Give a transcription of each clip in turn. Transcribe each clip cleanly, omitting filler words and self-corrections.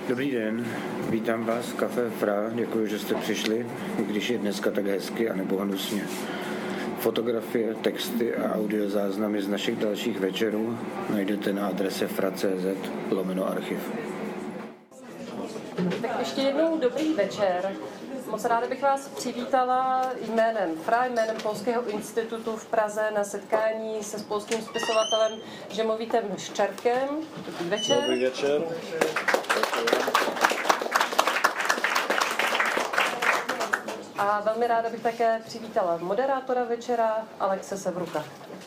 Dobrý den, vítám vás v Café Fra, děkuji, že jste přišli, i když je dneska tak hezky a nebo hnusně. Fotografie, texty a audiozáznamy z našich dalších večerů najdete na adrese fra.cz/archiv. Tak ještě jednou dobrý večer. Moc ráda bych vás přivítala jménem FRA, jménem Polského institutu v Praze na setkání se polským spisovatelem Žemovitem Szczerkem. Dobrý večer. Dobrý večer. A velmi ráda bych také přivítala moderátora večera Alexe Sevruka,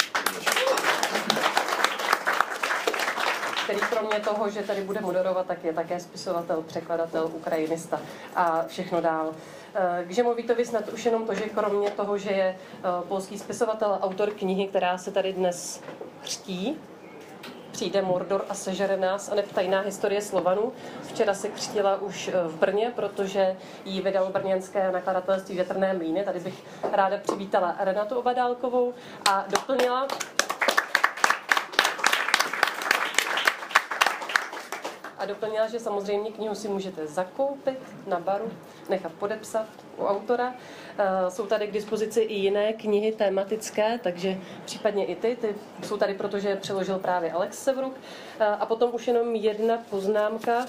který kromě toho, že tady bude moderovat, tak je také spisovatel, překladatel, ukrajinista a všechno dál. K Žemovitovi snad už jenom to, že kromě toho, že je polský spisovatel, autor knihy, která se tady dnes křtí, Přijde Mordor a sežere nás, a tajná historie Slovanů. Včera se křtila už v Brně, protože ji vydalo brněnské nakladatelství Větrné mlýny. Tady bych ráda přivítala Renatu Obadálkovou a doplnila, že samozřejmě knihu si můžete zakoupit na baru, nechat podepsat u autora. Jsou tady k dispozici i jiné knihy tematické, takže případně i ty jsou tady, protože je přeložil právě Alex Sevruk. A potom už jenom jedna poznámka.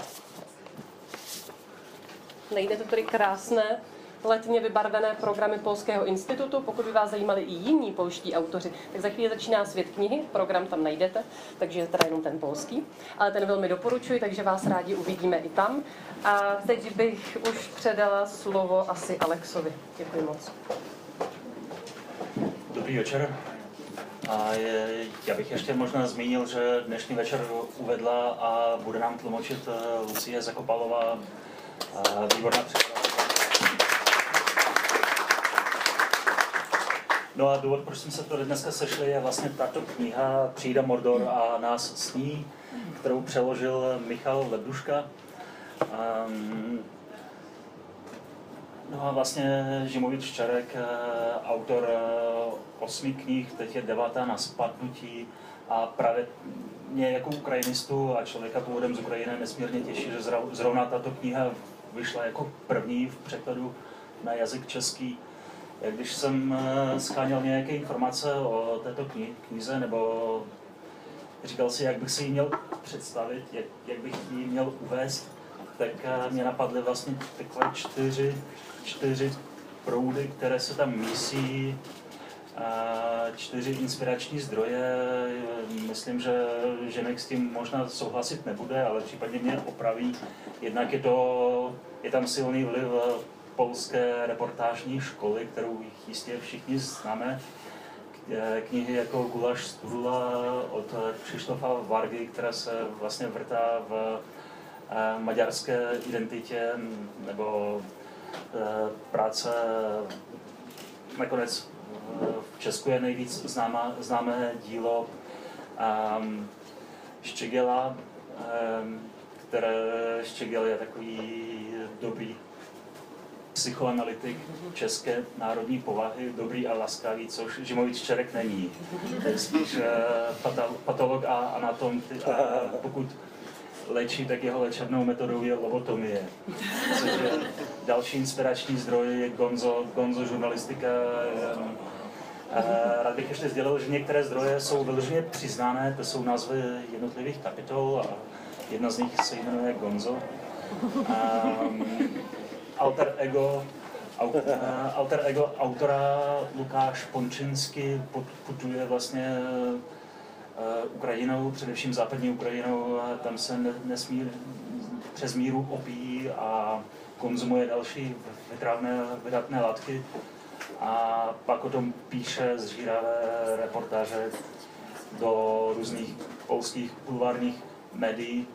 Najdete tady krásné letně vybarvené programy Polského institutu. Pokud by vás zajímali i jiní polští autoři, tak za chvíli začíná Svět knihy, program tam najdete, takže je teda jenom ten polský. Ale ten velmi doporučuji, takže vás rádi uvidíme i tam. A teď bych už předala slovo asi Alexovi. Děkuji moc. Dobrý večer. A já bych ještě možná zmínil, že dnešní večer uvedla a bude nám tlumočit Lucie Zakopalová, výborná překladatelka. No a důvod, proč jsme se tady dneska sešli, je vlastně tato kniha Přijde Mordor a nás sní, kterou přeložil Michal Lebduška. No a vlastně Žemovit Szczerek, autor 8 knih, teď je 9. na spadnutí, a právě mě jako ukrajinistu a člověka původem z Ukrajiny nesmírně těší, že zrovna tato kniha vyšla jako první v překladu na jazyk český. Když jsem sháněl nějaké informace o této knize, nebo říkal si, jak bych si ji měl představit, jak bych ji měl uvést, tak mě napadly vlastně takové čtyři proudy, které se tam mísí, 4 inspirační zdroje. Myslím, že Ženek s tím možná souhlasit nebude, ale případně mě opraví. Jednak je tam silný vliv polské reportážní školy, kterou jistě všichni známe. Knihy jako Gulaš z Turula od Krzysztofa Vargy, která se vlastně vrtá v maďarské identitě, nebo práce nakonec v Česku je nejvíc známé dílo Štěgela, které Štěgel je takový dobrý psychoanalytik české národní povahy, dobrý a laskavý, což Žemovit Szczerek není. To je spíš patolog a anatom, a pokud léčí, tak jeho léčebnou metodou je lobotomie. Což je další inspirační zdroj je Gonzo žurnalistika. Rád bych ještě sdělil, že některé zdroje jsou vyloženě přiznané, to jsou názvy jednotlivých kapitol a jedna z nich se jmenuje Gonzo. Alter ego autora Lukáš Pončinsky putuje vlastně Ukrajinou, především západní Ukrajinou, a tam se nesmí přes míru opíjí a konzumuje další vydatné látky, a pak o tom píše zžíravé reportáže do různých polských bulvárních médií.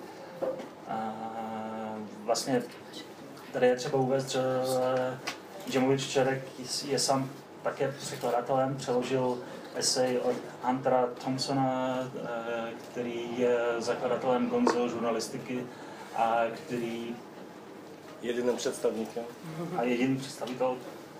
Vlastně tady je třeba uvést, že Žemovit Szczerek je sám také překladatelem, přeložil esej od Huntera Thompsona, který je zakladatelem Gonzo žurnalistiky a který jediným představníkem. A jediný představitel,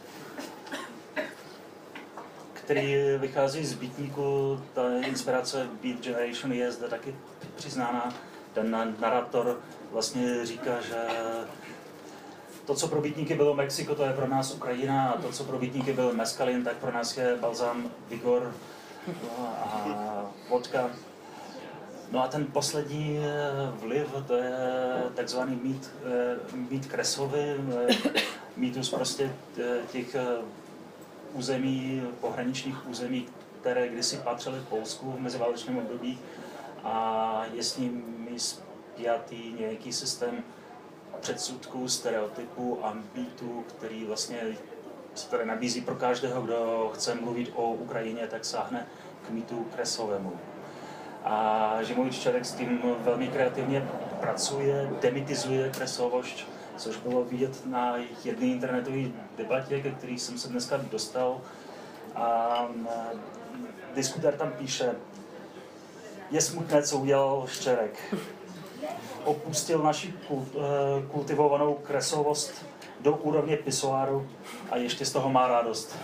který vychází z Beatníku. Ta inspirace Beat Generation je zde taky přiznána. Ten narrator vlastně říká, že to, co pro bytníky bylo Mexiko, to je pro nás Ukrajina, a to, co pro bytníky byl meskalin, tak pro nás je balzám Vigor a vodka. No a ten poslední vliv, to je takzvaný mýt Kresovy, mýtus prostě těch území, pohraničních území, které kdysi patřily v Polsku v meziválečném období, a je s nimi spjatý nějaký systém předsudků, stereotypů a mýtů, který vlastně se tady nabízí pro každého, kdo chce mluvit o Ukrajině, tak sáhne k mýtu Kresovému. A Žimovič Čerek s tím velmi kreativně pracuje, demitizuje Kresovošť, což bylo vidět na jedné internetové debatě, ke který jsem se dneska dostal. A diskutér tam píše: je smutné, co udělal Ščerek. Opustil naši kultivovanou kresovost do úrovně pisoáru a ještě z toho má radost.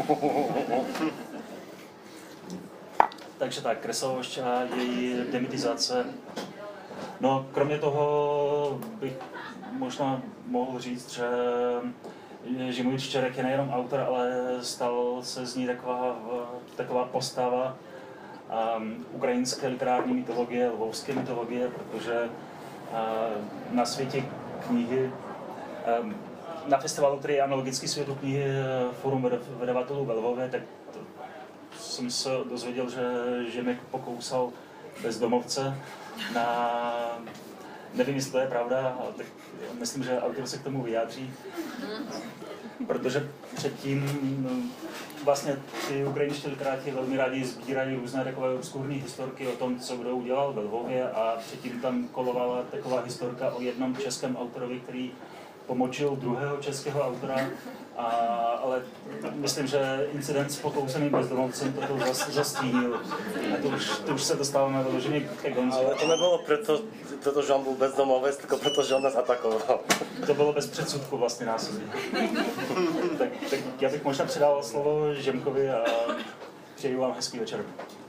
Takže tak, Kresovošť a její demitizace. No, kromě toho bych možná mohl říct, že Žimovič Čerek je nejenom autor, ale stal se z ní taková postava ukrajinské literární mytologie, lvovské mytologie, protože na světě knihy, na festivalu, který je analogický světu knihy Forum vydavatelů ve Lvově, tak jsem se dozvěděl, že Žimek pokousal bezdomovce na... Nevím, jestli to je pravda, ale tak myslím, že autor se k tomu vyjádří. Protože předtím vlastně ty ukrajinští literáti velmi rádi sbírají různé takové obskurní historky o tom, co kdo udělal ve Lvově, a předtím tam kolovala taková historka o jednom českém autorovi, který pomočil druhého českého autora, ale myslím, že incident s pokouseným bezdomovcem toto zastínil. A to už se dostáváme vyloženě ke Gonzu. Ale to nebylo protože on byl bezdomovec, tylko protože on nás atakoval. To bylo bez předsudku vlastně násilí. tak já bych možná předal slovo Žemkovi a přeju vám hezký večer.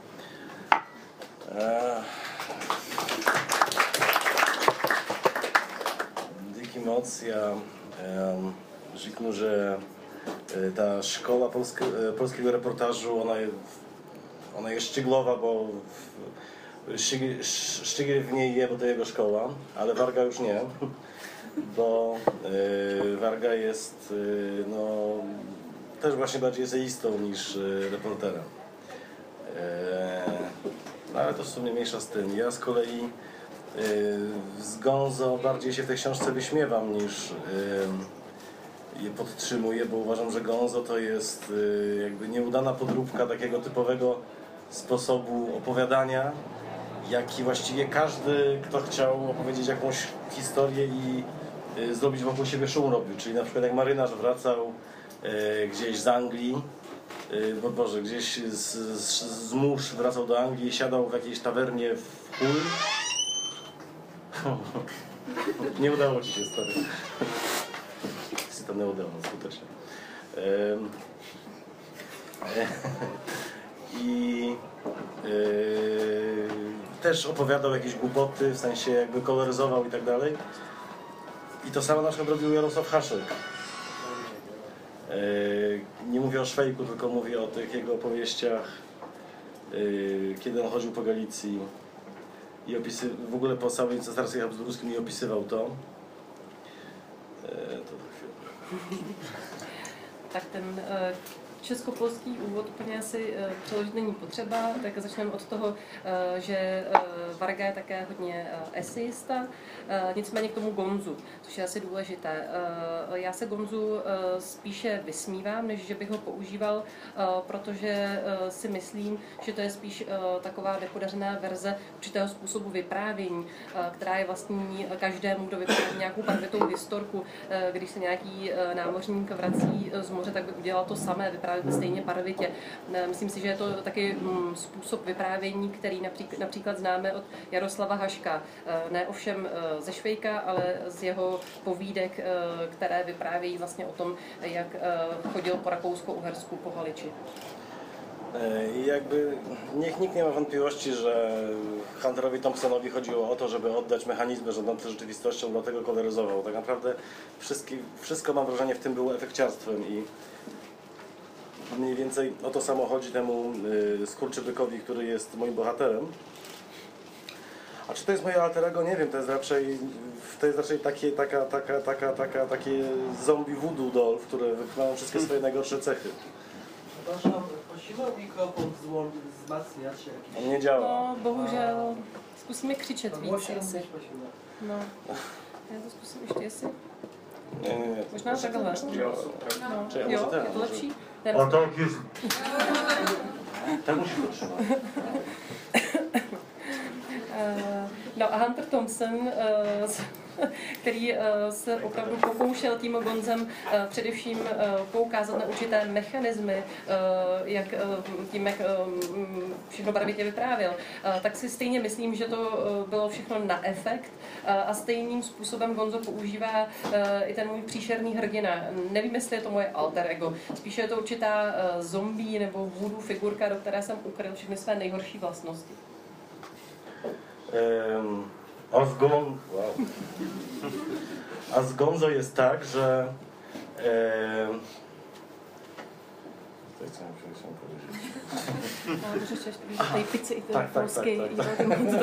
Díky moc. Ja řeknu, že ta szkoła polskiego reportażu, ona jest sztyglowa, bo Sztygiel w niej je, bo to jego szkoła, ale Varga już nie, bo Varga jest no, też właśnie bardziej eseistą niż reporterem. No, ale to w sumie mniejsza z tym. Ja z kolei z Gonzo bardziej się w tej książce wyśmiewam niż je podtrzymuję, bo uważam, że Gonzo to jest jakby nieudana podróbka takiego typowego sposobu opowiadania, jaki właściwie każdy, kto chciał opowiedzieć jakąś historię i zrobić wokół siebie szum, robił. Czyli na przykład jak marynarz wracał gdzieś z Anglii, Boże, gdzieś z mórz wracał do Anglii i siadał w jakiejś tawernie w Hull. Nie udało ci się, stary. Się to nie udało, skutecznie. I też opowiadał jakieś głupoty, w sensie jakby koloryzował i tak dalej. I to samo na przykład robił Jarosław Haszek. Nie mówię o Szwejku, tylko mówię o tych jego opowieściach, kiedy on chodził po Galicji i w ogóle po całej cesarstwie habsburskim i opisywał to. To chwilę. Tak ten českopolský úvod úplně asi přeložit není potřeba, tak začneme od toho, že Varga je také hodně eseista, nicméně k tomu Gonzu, což je asi důležité. Já se Gonzu spíše vysmívám, než že bych ho používal, protože si myslím, že to je spíš taková nepodařená verze určitého způsobu vyprávění, která je vlastní každému, kdo vypráví nějakou barvitou historku. Když se nějaký námořník vrací z moře, tak by udělal to samé, vyprávět stejně barvitě. Myslím si, že je to taky způsob vyprávění, který například známe od Jaroslava Haška. Ne ovšem ze Švejka, ale z jeho povídek, které vyprávějí vlastně o tom, jak chodil po Rakousko-Uhersku po Haliči. I jakby nikt nie ma wątpliwości, że Hunterowi Thompsonowi chodziło o to, żeby oddać mechanizmy rządzące rzeczywistością, dlatego koloryzował. Tak naprawdę wszystko mam wrażenie w tym było efekciarstwem i mniej więcej o to samo chodzi temu skurczybykowi, który jest moim bohaterem. A czy to jest moje alter ego? Nie wiem, to jest raczej takie zombie voodoo doll, które mają wszystkie swoje najgorsze cechy. Przepraszam, prosimy o mikrofon wzmacniać jakiś. On nie działa. No, bohužel. Zkusíme křičet víc Głośno asi. mówić prosimy. No. Já to zkusím ještě jestli. Nie. Možná takhle. No. Czy ja Jo, może ten, je to może- lepší? A tak jest. Tak musisz go trzymać. No a Hunter Thompson, který se opravdu pokoušel tím Gonzem především poukázat na určité mechanismy, jak všechno barvitě vyprávěl, tak si stejně myslím, že to bylo všechno na efekt a stejným způsobem Gonzo používá i ten můj příšerný hrdina. Nevím, jestli je to moje alter ego, spíše je to určitá zombie nebo voodoo figurka, do které jsem ukryl všechny své nejhorší vlastnosti. A z Gonzo jest tak, że co chciałem powiedzieć? Můžeš ještě tady pici i ten Tak. polský, i ten Gonzo.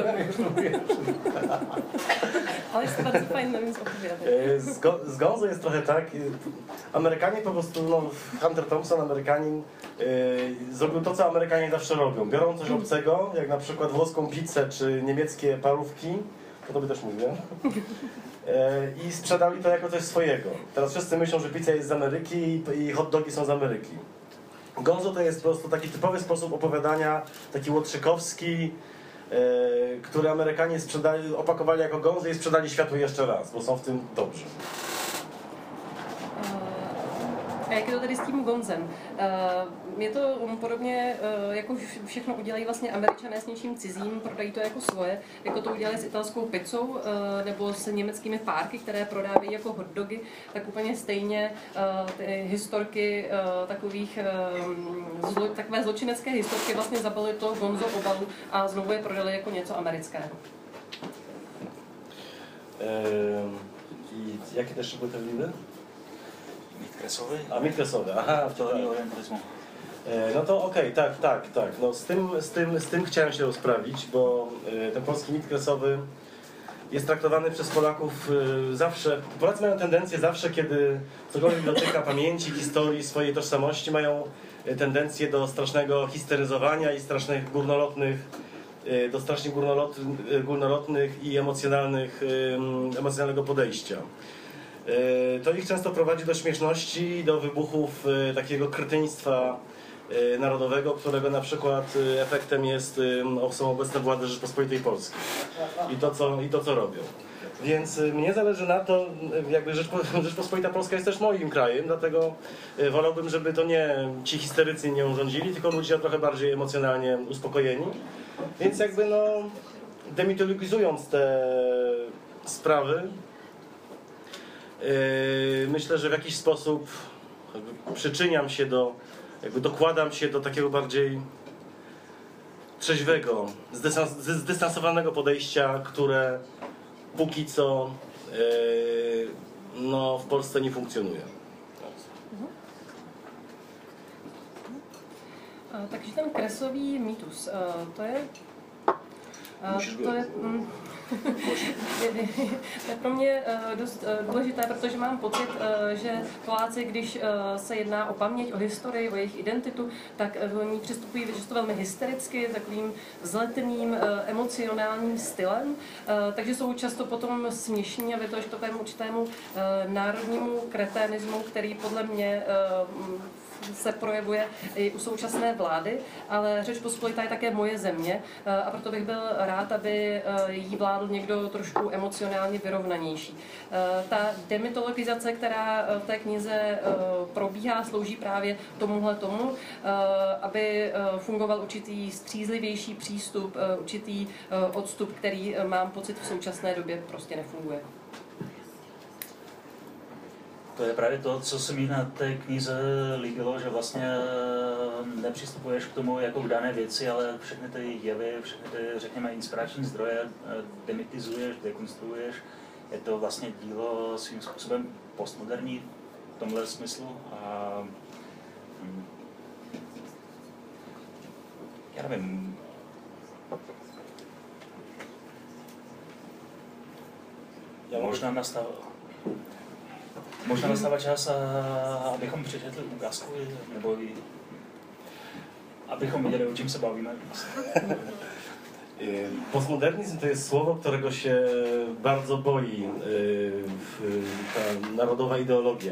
Ale jest to bardzo fajne, no więc opowiadaj. Z Gonzo jest trochę tak, Amerykanie po prostu, no, Hunter Thompson, Amerykanin, zrobił to, co Amerykanie zawsze robią. Biorą coś obcego, jak na przykład włoską pizzę czy niemieckie parówki, to tobie też mówię, i sprzedali to jako coś swojego. Teraz wszyscy myślą, że pizza jest z Ameryki i hot dogi są z Ameryki. Gonzo to jest po prostu taki typowy sposób opowiadania, taki łotrzykowski, który Amerykanie opakowali jako Gonzo i sprzedali światu jeszcze raz, bo są w tym dobrzy. A jak je to tady s tím Gonzem? Je to podobně, jako všechno udělají vlastně Američané s něčím cizím, prodají to jako svoje, jako to udělali s italskou pizzou nebo s německými párky, které prodávají jako hotdogy, tak úplně stejně ty historky takové zločinecké historky vlastně zabalili to Gonzo obalu a znovu je prodali jako něco amerického. I jakie też były te lidy? Mit kresowy? A mit kresowy, aha, To orientalizmu. no to okej, tak. No z tym chciałem się rozprawić, bo ten polski mit kresowy jest traktowany przez Polaków zawsze. Polacy mają tendencję zawsze, kiedy cokolwiek dotyka pamięci, historii, swojej tożsamości, mają tendencję do strasznego histeryzowania i strasznych górnolotnych i emocjonalnego podejścia. To ich często prowadzi do śmieszności, do wybuchów takiego kretyństwa narodowego, którego na przykład efektem są obecne władze Rzeczpospolitej Polskiej i to co robią. Więc mnie zależy na to, jakby Rzeczpospolita Polska jest też moim krajem, dlatego wolałbym, żeby to nie ci histerycy nią rządzili, tylko ludzie trochę bardziej emocjonalnie uspokojeni. Więc jakby no, demitologizując te sprawy, myślę, że w jakiś sposób przyczyniam się dokładam się do takiego bardziej trzeźwego, zdystansowanego podejścia, które póki co no, w Polsce nie funkcjonuje. Takže ten kresový mýtus, to je je pro mě dost důležité, protože mám pocit, že Poláci, když se jedná o paměť, o historii, o jejich identitu, tak v ní přistupují často velmi hystericky, takovým vzletným, emocionálním stylem, takže jsou často potom směšní a vedou k takovému určitému národnímu kreténismu, který podle mě se projevuje i u současné vlády, ale Řečpospolitá je také moje země a proto bych byl rád, aby jí vládl někdo trošku emocionálně vyrovnanější. Ta demitologizace, která v té knize probíhá, slouží právě tomu, aby fungoval určitý střízlivější přístup, určitý odstup, který mám pocit v současné době prostě nefunguje. To je právě to, co se mi na té knize líbilo, že vlastně nepřistupuješ k tomu jako k dané věci, ale všechny ty jevy, všechny ty, řekněme, inspirační zdroje demitizuješ, dekonstruuješ. Je to vlastně dílo svým způsobem postmoderní v tomhle smyslu. A já nevím, možná nastává čas, abychom přečetli ukázku, nebo abychom viděli, o čím se bavíme. Postmodernizm to jest słowo, którego się bardzo boi ta narodowa ideologia.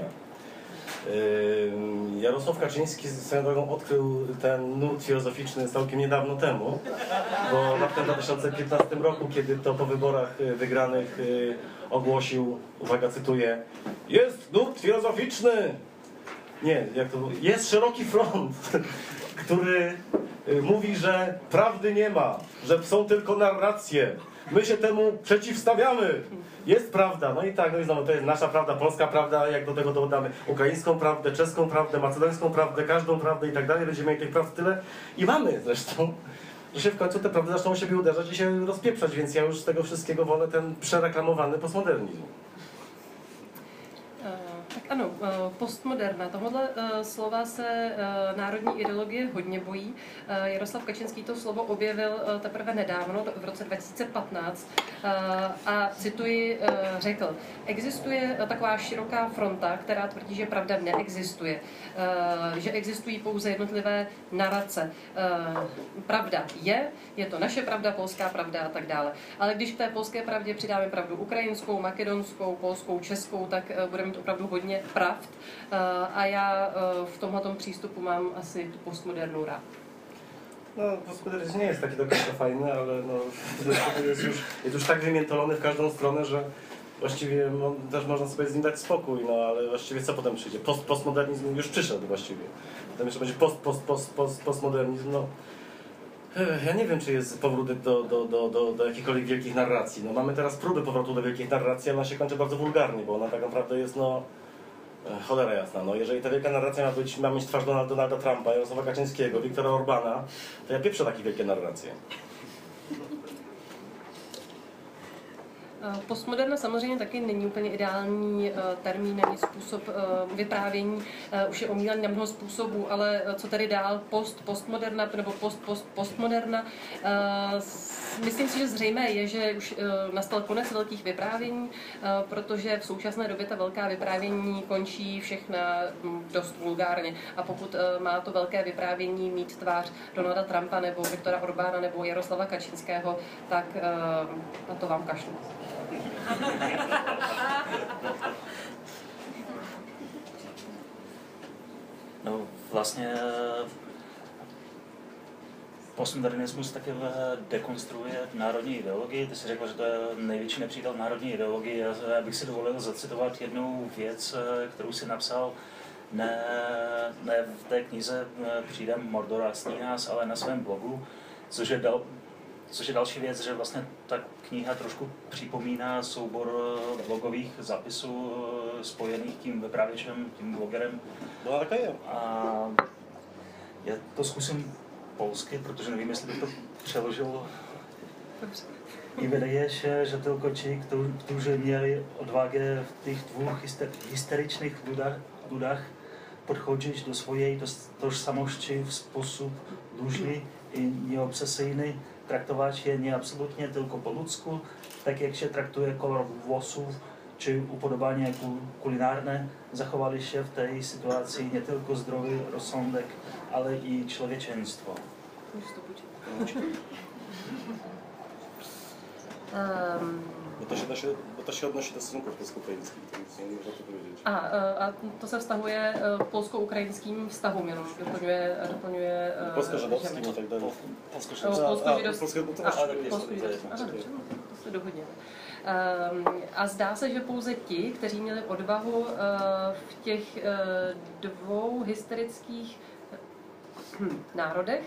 Jarosław Kaczyński swoją drogą odkrył ten nurt filozoficzny całkiem niedawno temu, bo w 2015 roku, kiedy to po wyborach wygranych ogłosił, uwaga, cytuję: jest nurt filozoficzny! Nie, jak to było? Jest szeroki front, który mówi, że prawdy nie ma, że są tylko narracje. My się temu przeciwstawiamy. Jest prawda. No i tak, no i znowu to jest nasza prawda, polska prawda, jak do tego dodamy ukraińską prawdę, czeską prawdę, macedońską prawdę, każdą prawdę i tak dalej. Będziemy mieli tych prawd tyle i mamy zresztą, że się w końcu te prawdy zaczną o siebie uderzać i się rozpieprzać, więc ja już z tego wszystkiego wolę ten przereklamowany postmodernizm. Tak ano, postmoderna. Tohle slova se národní ideologie hodně bojí. Jaroslav Kačinský to slovo objevil teprve nedávno, v roce 2015, a cituji, řekl: existuje taková široká fronta, která tvrdí, že pravda neexistuje, že existují pouze jednotlivé narace. Pravda je to naše pravda, polská pravda a tak dále. Ale když k té polské pravdě přidáme pravdu ukrajinskou, makedonskou, polskou, českou, tak budeme mít opravdu hodně pravd. A já v tomhletom přístupu mám asi tu postmodernu rád. No, postmodernizm nie jest taki do końca fajny, ale no, jest już tak wymiętolony w każdą stronę, że właściwie też można sobie z nim dać spokój, no ale właściwie co potem przyjdzie? Postmodernizm już przyszedł właściwie. Potem jeszcze będzie postmodernizm, no. Ja nie wiem, czy jest powrót do jakichkolwiek wielkich narracji. No, mamy teraz próby powrotu do wielkich narracji, ale ona się kończy bardzo wulgarnie, bo ona tak naprawdę jest, no, cholera jasna. No, jeżeli ta wielka narracja ma mieć twarz Donalda Trumpa, Jarosława Kaczyńskiego, Viktora Orbana, to ja pieprzę takie wielkie narracje. Postmoderna samozřejmě taky není úplně ideální termín ani způsob vyprávění. Už je omílaný na mnoho způsobů, ale co tady dál? Postmoderna nebo postmoderna. Myslím si, že zřejmé je, že už nastal konec velkých vyprávění, protože v současné době ta velká vyprávění končí všechna dost vulgárně. A pokud má to velké vyprávění mít tvář Donalda Trumpa nebo Viktora Orbána nebo Jaroslava Kačinského, tak na to vám kašlu. No vlastně postmodernismus taky dekonstruuje národní ideologii. Ty jsi řekl, že to je největší nepřítel národní ideologie. Já bych si dovolil zacitovat jednu věc, kterou si napsal ne v té knize Přijdem Mordor a sní nás, ale na svém blogu, což je další věc, že vlastně ta kniha trošku připomíná soubor blogových zapisů spojených tím vypravěčem, tím blogerem. No také je. A já to zkusím polsky, protože nevím, jestli bych to přeložil. I wydaje się, że tylko ci, którzy mieli odwagę w tych dwóch historycznych ludach podchodzić do swojej tożsamości w sposób luźny i nieobsesyjny, traktować je nie absolutnie tylko po ludzku, tak jak się traktuje kolor włosów czy upodobania kulinarne, zachowali się w tej sytuacji nie tylko zdrowy rozsądek, ale i człowieczeństwo. Bo to się odnosi do stosunków polsko-ukraińskich, to nic nie można to powiedzieć. A to se vztahuje polsko-ukrajinským vztahům, jenom doplňuje polsko-żydowskim i tak dalej. Polsko-židovským. To se dohodněme. A zdá se, že pouze ti, kteří měli odvahu v těch dvou historických národech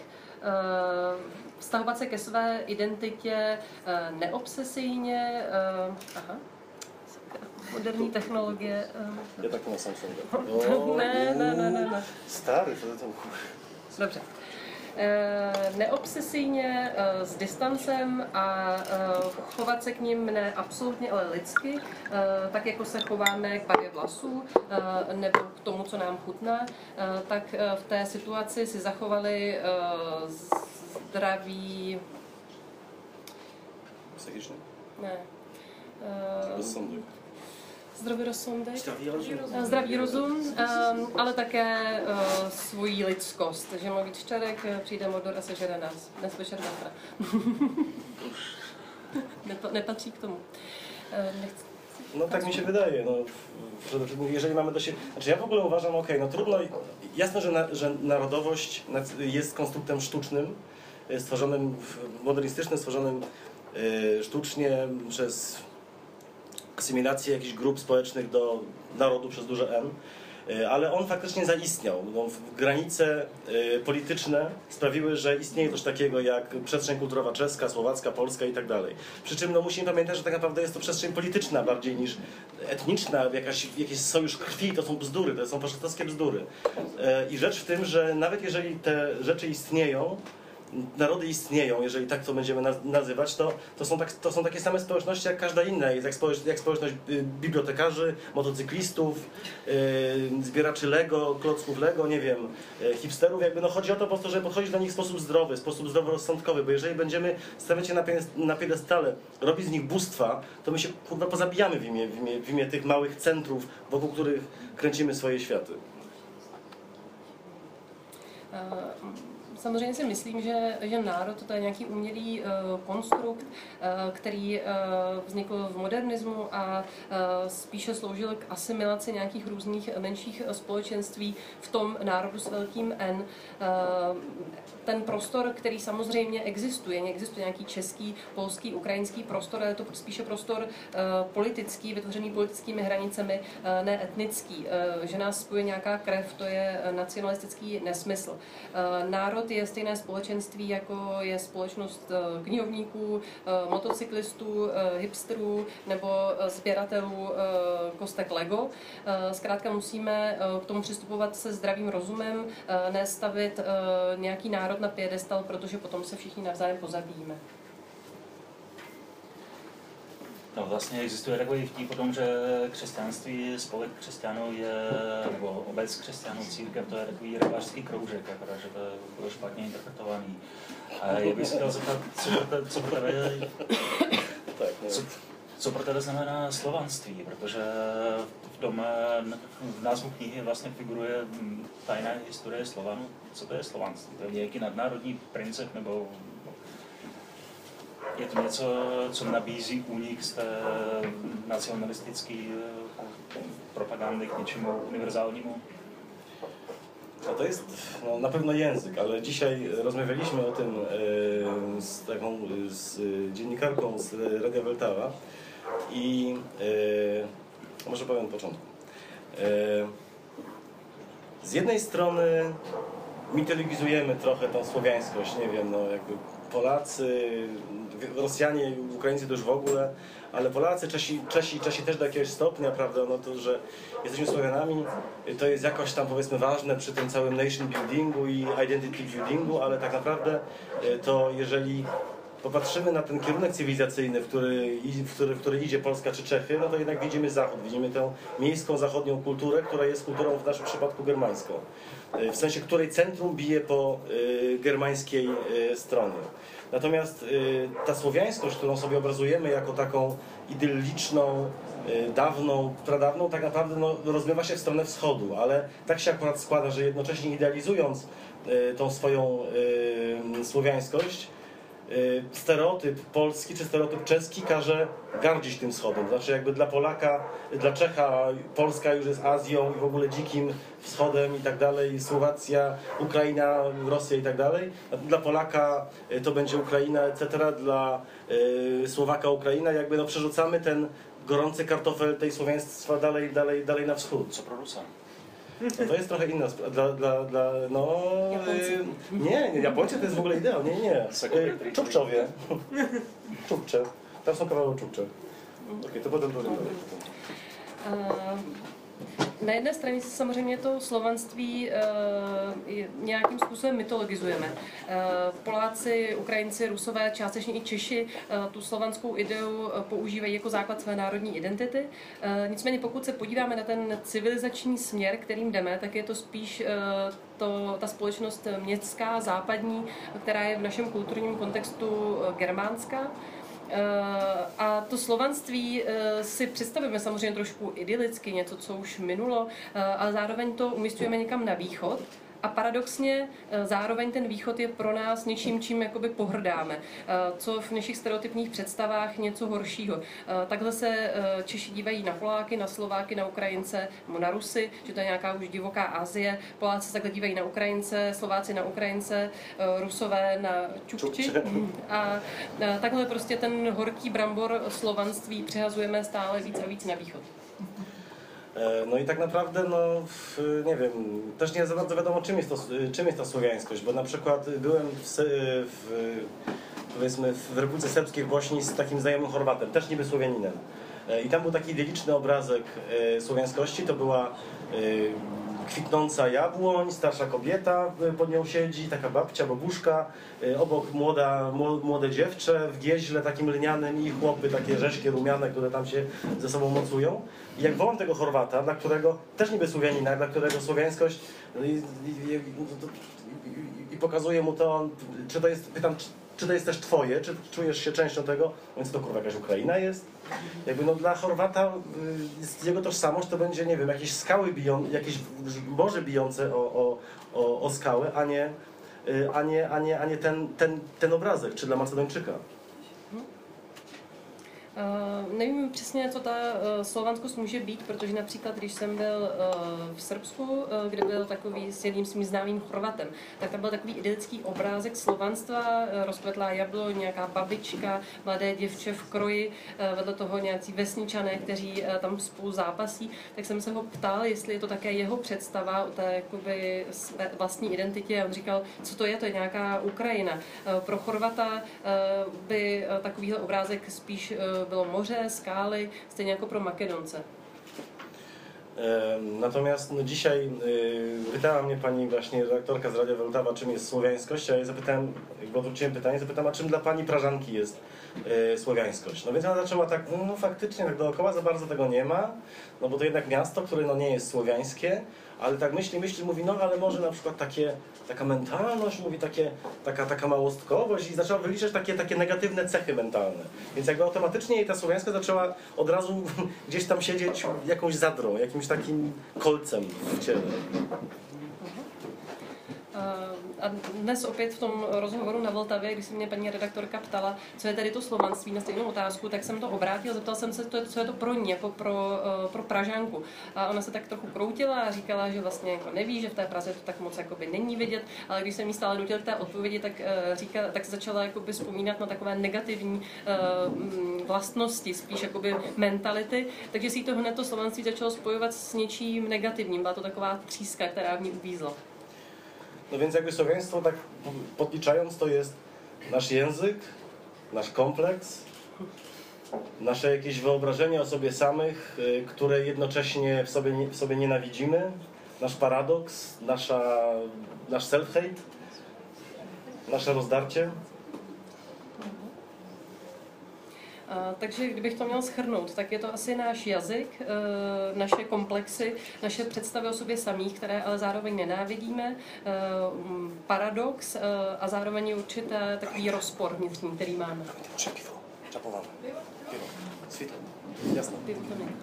vztahovat se ke své identitě neobsesijně. Moderní technologie. Ja taky na Samsunga. Ne. Stary, to tam... Dobře. Neobsesijně, s distancem a chovat se k ním ne absolutně, ale lidsky, tak jako se chováme k barvě vlasů nebo k tomu, co nám chutná, tak v té situaci si zachovali zdraví... Psychiczny? Ne. Rozsądek. Zdravý rozsudek, zdravý rozum, ale také svoji lidskost. Že má víc čerek, přijde Mordor a sežere nás. Dnes večer zafra. Nepatří k tomu. Nechci. No tak mi się wydaje, no, jeżeli mamy do siebie... Znaczy ja w ogóle uważam, no trudno, jasne, że narodowość jest konstruktem sztucznym, stworzonym, modernistycznym, stworzonym sztucznie przez asymilację jakichś grup społecznych do narodu przez duże N, ale on faktycznie zaistniał. No, granice polityczne sprawiły, że istnieje coś takiego jak przestrzeń kulturowa czeska, słowacka, polska i tak dalej. Przy czym no, musimy pamiętać, że tak naprawdę jest to przestrzeń polityczna bardziej niż etniczna, jakiś sojusz krwi, to są bzdury, to są faszystowskie bzdury. I rzecz w tym, że nawet jeżeli te rzeczy istnieją, narody istnieją, jeżeli tak to będziemy nazywać, to są takie same społeczności jak każda inna. Jest jak społeczność bibliotekarzy, motocyklistów, zbieraczy Lego, klocków Lego, nie wiem, hipsterów. Jakby no chodzi o to po prostu, żeby podchodzić do nich w sposób zdrowy, w sposób zdroworozsądkowy, bo jeżeli będziemy stawiać je na piedestale, robić z nich bóstwa, to my się kurwa pozabijamy w imię tych małych centrów, wokół których kręcimy swoje światy. Samozřejmě si myslím, že národ to je nějaký umělý konstrukt, který vznikl v modernismu a spíše sloužil k asimilaci nějakých různých menších společenství v tom národu s velkým N. Ten prostor, který samozřejmě existuje nějaký český, polský, ukrajinský prostor, ale je to spíše prostor politický, vytvořený politickými hranicemi, ne etnický. Že nás spojuje nějaká krev, to je nacionalistický nesmysl. Národ je stejné společenství, jako je společnost knihovníků, motocyklistů, hipsterů nebo sběratelů kostek Lego. Zkrátka musíme k tomu přistupovat se zdravým rozumem, ne stavit nějaký národ na piedestal, protože potom se všichni navzájem pozabijíme. No vlastně existuje takový vtip o tom, že křesťanství, spolek křesťanů je, nebo obec křesťanů, církev, to je takový rybářský kroužek, akorát, že to bylo špatně interpretovaný. A já bych se chtěl zeptat, co pro tebe znamená slovanství, protože v názvu knihy vlastně figuruje tajná historie Slovanů. Co to je slovanství? To je nějaký nadnárodní princip, nebo je to něco, co nabízí únik z té nacionalistické propagandy k něčemu uniwersálnímu? No to jest no, na pewno język, ale dzisiaj rozmawialiśmy o tym z dziennikarką z Radia Weltawa i może powiem od początku. Z jednej strony mitologizujemy trochę tą słowiańskość, nie wiem, no jakby Polacy, Rosjanie, Ukraińcy to już w ogóle, ale Polacy, Czesi też do jakiegoś stopnia, prawda, no to, że jesteśmy Słowianami, to jest jakoś tam powiedzmy ważne przy tym całym nation buildingu i identity buildingu, ale tak naprawdę to jeżeli popatrzymy na ten kierunek cywilizacyjny, w który idzie Polska czy Czechy, no to jednak widzimy Zachód, widzimy tę miejską, zachodnią kulturę, która jest kulturą w naszym przypadku germańską. W sensie, której centrum bije po germańskiej stronie. Natomiast ta słowiańskość, którą sobie obrazujemy jako taką idylliczną, dawną, pradawną, tak naprawdę no, rozmywa się w stronę wschodu, ale tak się akurat składa, że jednocześnie idealizując tą swoją słowiańskość, stereotyp polski czy stereotyp czeski każe gardzić tym wschodem. Znaczy jakby dla Polaka, dla Czecha Polska już jest Azją i w ogóle dzikim wschodem i tak dalej, Słowacja, Ukraina, Rosja i tak dalej. Dla Polaka to będzie Ukraina, etc. Dla Słowaka Ukraina. Jakby no przerzucamy ten gorący kartofel tej słowiaństwa dalej na wschód. Co pro Rusa? No to jest trochę inna sprawa. No... Nie, Japońcy to jest w ogóle ideał. Nie. Czubczowie. Czubcze. Tam są kawałek Czubcze. Okay, to potom budeme Na jedné straně si samozřejmě to slovanství nějakým způsobem mytologizujeme. Poláci, Ukrajinci, Rusové, částečně i Češi tu slovanskou ideu používají jako základ své národní identity. Nicméně pokud se podíváme na ten civilizační směr, kterým jdeme, tak je to spíš ta společnost městská, západní, která je v našem kulturním kontextu germánská. A to slovanství si představujeme samozřejmě trošku idylicky, něco, co už minulo, ale zároveň to umístujeme někam na východ. A paradoxně zároveň ten východ je pro nás něčím, čím jakoby pohrdáme, co v našich stereotypních představách něco horšího. Takhle se Češi dívají na Poláky, na Slováky, na Ukrajince, nebo na Rusy, že to je nějaká už divoká Asie. Poláci se takhle dívají na Ukrajince, Slováci na Ukrajince, Rusové na Čukči. A takhle prostě ten horký brambor slovanství přehazujeme stále víc a víc na východ. No i tak naprawdę, no nie wiem, też nie za bardzo wiadomo czym jest ta słowiańskość, bo na przykład byłem powiedzmy w Republice Serbskiej w Bośni z takim znajomym Chorwatem, też niby Słowianinem. I tam był taki idylliczny obrazek słowiańskości, to była kwitnąca jabłoń, starsza kobieta pod nią siedzi, taka babcia, babuszka, obok młode dziewczę w gieźle takim lnianym i chłopy takie rzeźkie, rumiane, które tam się ze sobą mocują. I jak wołam tego Chorwata, dla którego, też niby Słowianina, dla którego słowiańskość i pokazuję mu to, czy to jest, pytam, czy to jest też twoje, czy czujesz się częścią tego, więc to kurwa jakaś Ukraina jest. Jakby no dla Chorwata jego tożsamość to będzie, nie wiem, jakieś skały jakieś morze bijące o skały, a nie ten obrazek, czy dla Macedończyka. Nevím přesně, co ta slovanskost může být, protože například, když jsem byl v Srbsku, kde byl takový s jedním svým známým Chorvatem, tak tam byl takový idylický obrázek slovanstva, rozkvetlá jabloň, nějaká babička, mladé děvče v kroji, vedle toho nějací vesničané, kteří tam spolu zápasí, tak jsem se ho ptal, jestli je to také jeho představa o té jakoby vlastní identitě. A on říkal, co to je nějaká Ukrajina. Pro Chorvata by takovýhle obrázek spíš bylo moře, skály, stejně jako pro Makedonce. Natomiast no, dzisiaj pytała mnie pani właśnie redaktorka z Radia Wrocław, czym jest słowiańskość, a ja zapytałem, jakby odwróciłem pytanie, zapytałem, a czym dla pani Prażanki jest słowiańskość. No więc ona zaczęła tak, no faktycznie tak dookoła za bardzo tego nie ma, no bo to jednak miasto, które no nie jest słowiańskie, ale tak myśli, mówi, no ale może na przykład taka mentalność, mówi taka małostkowość i zaczęła wyliczać takie negatywne cechy mentalne. Więc jakby automatycznie jej ta słowiańska zaczęła od razu gdzieś tam siedzieć jakąś zadrą, jakimś takim kolcem w ciele. A dnes opět v tom rozhovoru na Vltavě, když se mě paní redaktorka ptala, co je tady to slovanství na stejnou otázku, tak jsem to obrátil, zeptal jsem se, co je to pro ní, jako pro Pražanku. A ona se tak trochu kroutila a říkala, že vlastně jako neví, že v té Praze to tak moc jakoby není vidět, ale když jsem jí stále nutil k té odpovědi, tak se začala jakoby vzpomínat na takové negativní vlastnosti, spíš jakoby mentality, takže si to hned to slovanství začalo spojovat s něčím negativním. Byla to taková tříska, která v ní uvízla. No więc jakby słowiaństwo, tak podliczając, to jest nasz język, nasz kompleks, nasze jakieś wyobrażenie o sobie samych, które jednocześnie w sobie nienawidzimy, nasz paradoks, nasz self-hate, nasze rozdarcie. Takže kdybych to měl shrnout, tak je to asi náš jazyk, naše komplexy, naše představy o sobě samých, které ale zároveň nenávidíme, paradox a zároveň určitý takový rozpor vnitřní, který máme. Piwo, czapowane. Piwo, sweet, jasno. Pivo to ne.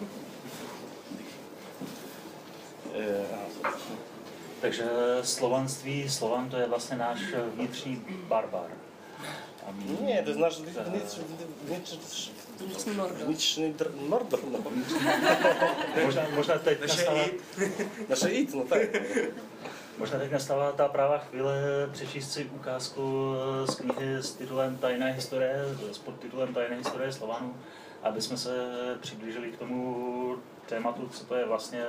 Takže Slovan to je vlastně náš vnitřní barbar. Nie, to jest nasz vnitřní mordor. No. Možná teď Naše id, no tak. Možná teď nastává ta prává chvíle přečíst si ukázku z knihy s titulem Tajná historie, s podtitulem Tajná historie Slovanů, aby jsme se přiblížili k tomu tématu, co to je vlastně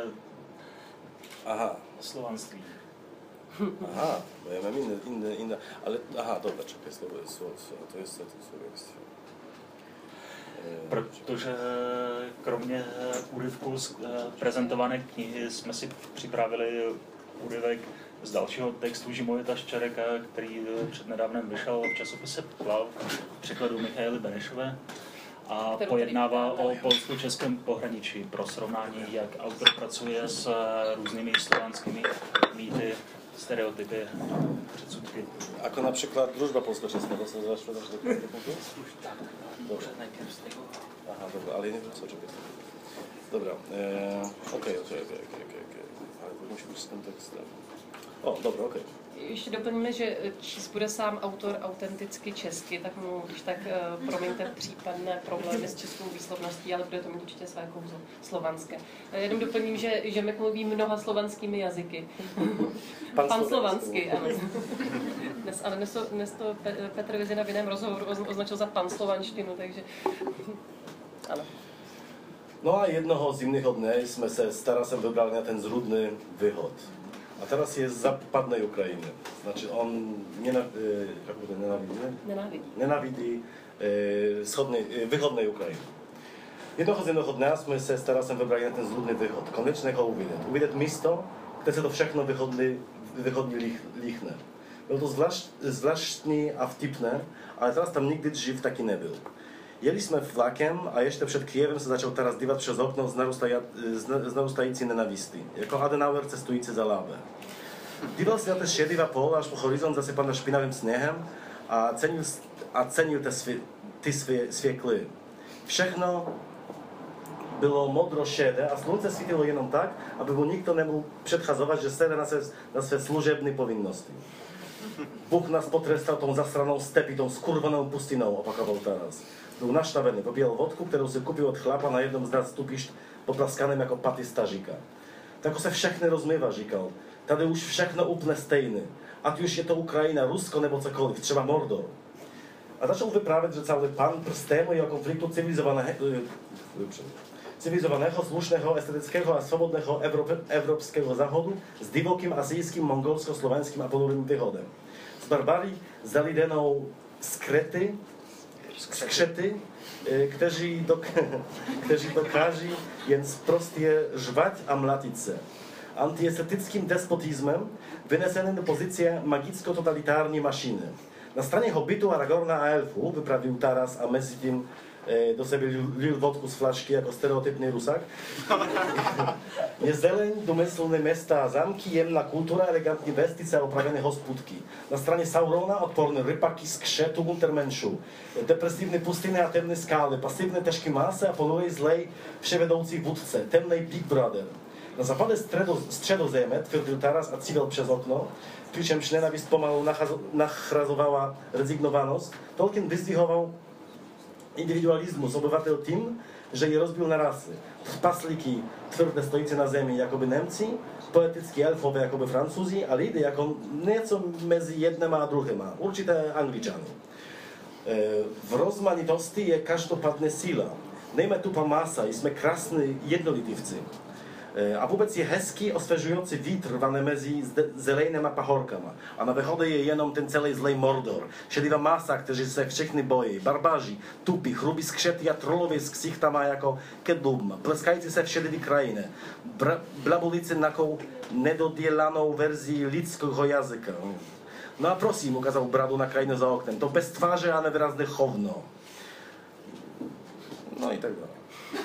slovanství. Aha, bo ja mam inne, ale aha, dobra, czekaj, słowo, to jest słowiaństwo. Protože kromě úryvku z prezentované knihy jsme si připravili úryvek z dalšího textu Žimovita Ščereka, který přednedávnem vyšel v časopise Plav v překladu Michaely Benešové a pojednává o polsko-českém pohraničí pro srovnání, jak autor pracuje s různými slovanskými mýty, stereotypy a předsudky. Ako například družba polsko-česká, to se zašlo do punktu? Dobře, najpierw z tego. Aha, dobra, ale nie wiem co czekać. Dobra, okej. Ale to musi być z kontekstem. O, dobra, okej. Ještě doplníme, že číst bude sám autor autenticky česky, tak mu když tak promiňte případné problémy s českou výslovností, ale bude to mít určitě své kouzlo slovanské. Jenom doplním, že Mek mluví mnoha slovanskými jazyky. Pan slovanský, ano. Dnes to Petr Vizina v jiném rozhovoru označil za pan slovanštinu, takže ano. No a jednoho zimného dne jsme se s Tarasem vybrali na ten zrudný východ. A teraz jest z zapadnej Ukrainy. Znaczy on nienawidzi wychodnej Ukrainy. Jednoho zimného dne jsme se s Tarasem vybrali na ten zrudný východ. Konečně ho uvidět místo, kde se to všechno wychodni lichne. Bylo to zvláštní a vtipné, ale teraz tam nigdy dřív taky nebyl. Jeli jsme vlakem a ještě před Kijevem se začal Taras dívat přes okno z narůstající nenavisty, jako Adenauer cestující za Lábe. Díval se na te šedivé pole až po horizont zasypané špinavým sněhem a cenil ty svěkly. Všechno bylo modro-šedé a slunce svítilo jenom tak, aby mu nikto nemohl předchazovat, že sede na své služebné povinnosti. Bůh nás potrestal tou zasranou stepí, tou skurvenou pustinou, opakoval Taras. Byl naštavený, popíjel vodku, kterou si kupil od chlapa na jednom z nadstupišť, poplaskaným jako paty stažíka. Tak se všechny rozmývá, říkal. Tady už všechno úplně stejné. Ať už je to Ukrajina, Rusko nebo cokoliv, třeba Mordor. A začal vyprávět, že celý pan prstému jeho konfliktu civilizovaného, slušného, estetického a svobodného evropského záhodu s divokým asijským, mongolsko-slovenským a ponurým východem. Z barbarii zalidenou skřety, kteří dokáží jen sprostě žvať a mlatit se. Antiestetickým despotismem vyneseným do pozice magicko-totalitární mašiny. Na straně Hobbitu, Aragorna a Elfu, vyprawił Taras, a mezi tím do sebe lil vodku z flašky jako stereotypný Rusak. Je zeleň, domyslné města a zamky, jemná kultura, elegantní vestice a opravené hospůdky. Na straně Saurona odporné rypaky z kšetu Untermenšu, depresivní pustiny a temné skály, pasivné těžké masy a ponurej zlej vševedoucí vůdce, temnej Big Brother. Na západě středozemí, tvrdil Taras a cível přes okno, přičemž nenavist pomalu nachrazowała rezygnowanost, Tolkien vyzdvihoval individualizmus obyvatel tím, že je rozbil na rasy. Trpaslíky tvrdé stojící na zemi jakoby Němci, poetickí elfové jakoby Francúzi a lidi jako něco mezi jednema a druhýma, určité Angličany. V rozmanitosti je každopádně síla. Nejme tupa masa, jsme krásní jednolitivci. A vůbec je hezký, osvěžující vítr rvaný mezi zelenýma pahorkama. A na východě je jenom ten celý zlej Mordor. Šedivá masa, kteří se všichni bojí. Barbaři, tupí, chrubí skřety a trollovi s ksichtama jako kedlubma. Pleskající se v šedivý krajině. Blabulici nakou nedodělanou verzí lidského jazyka. No a prosím, ukázal bradu na krajinu za oknem. To bez tváře a nevýrazné chovno. No i tak dále.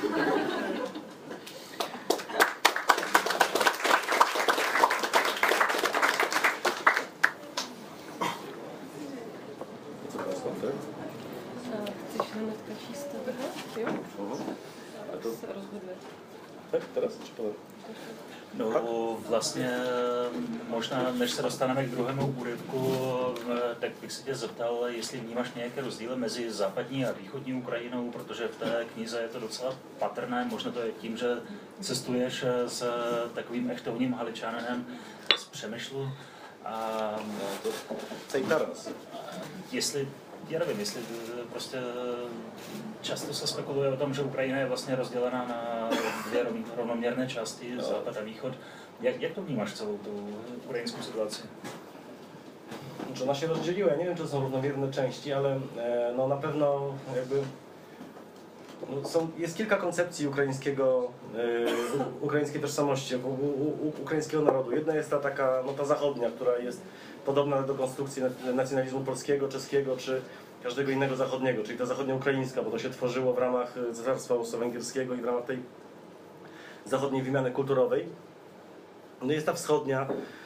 Chceš hnedka číst to? Jo? A to se rozhoduje. tak teraz? Či potom? No vlastně možná, než se dostaneme k druhému úryvku, tak bych se tě zeptal, jestli vnímáš nějaké rozdíly mezi západní a východní Ukrajinou, protože v té knize je to docela patrné, možná to je tím, že cestuješ s takovým echtovním Haličaninem z Přemyšlu. A to cej Taras. Jestli, já nevím, jestli prostě často se spekuluje o tom, že Ukrajina je vlastně rozdělená na dvě rovnoměrné části, západ a východ. Jak to vnímáš celou tu ukrajinskou situaci? Że ona się rozdzieliła. Ja nie wiem, czy to są równomierne części, ale no na pewno jakby jest kilka koncepcji ukraińskiej tożsamości, ukraińskiego narodu. Jedna jest ta taka, ta zachodnia, która jest podobna do konstrukcji nacjonalizmu polskiego, czeskiego czy każdego innego zachodniego, czyli ta zachodnioukraińska, bo to się tworzyło w ramach Cesarstwa Austro-Węgierskiego i w ramach tej zachodniej wymiany kulturowej. No jest ta wschodnia,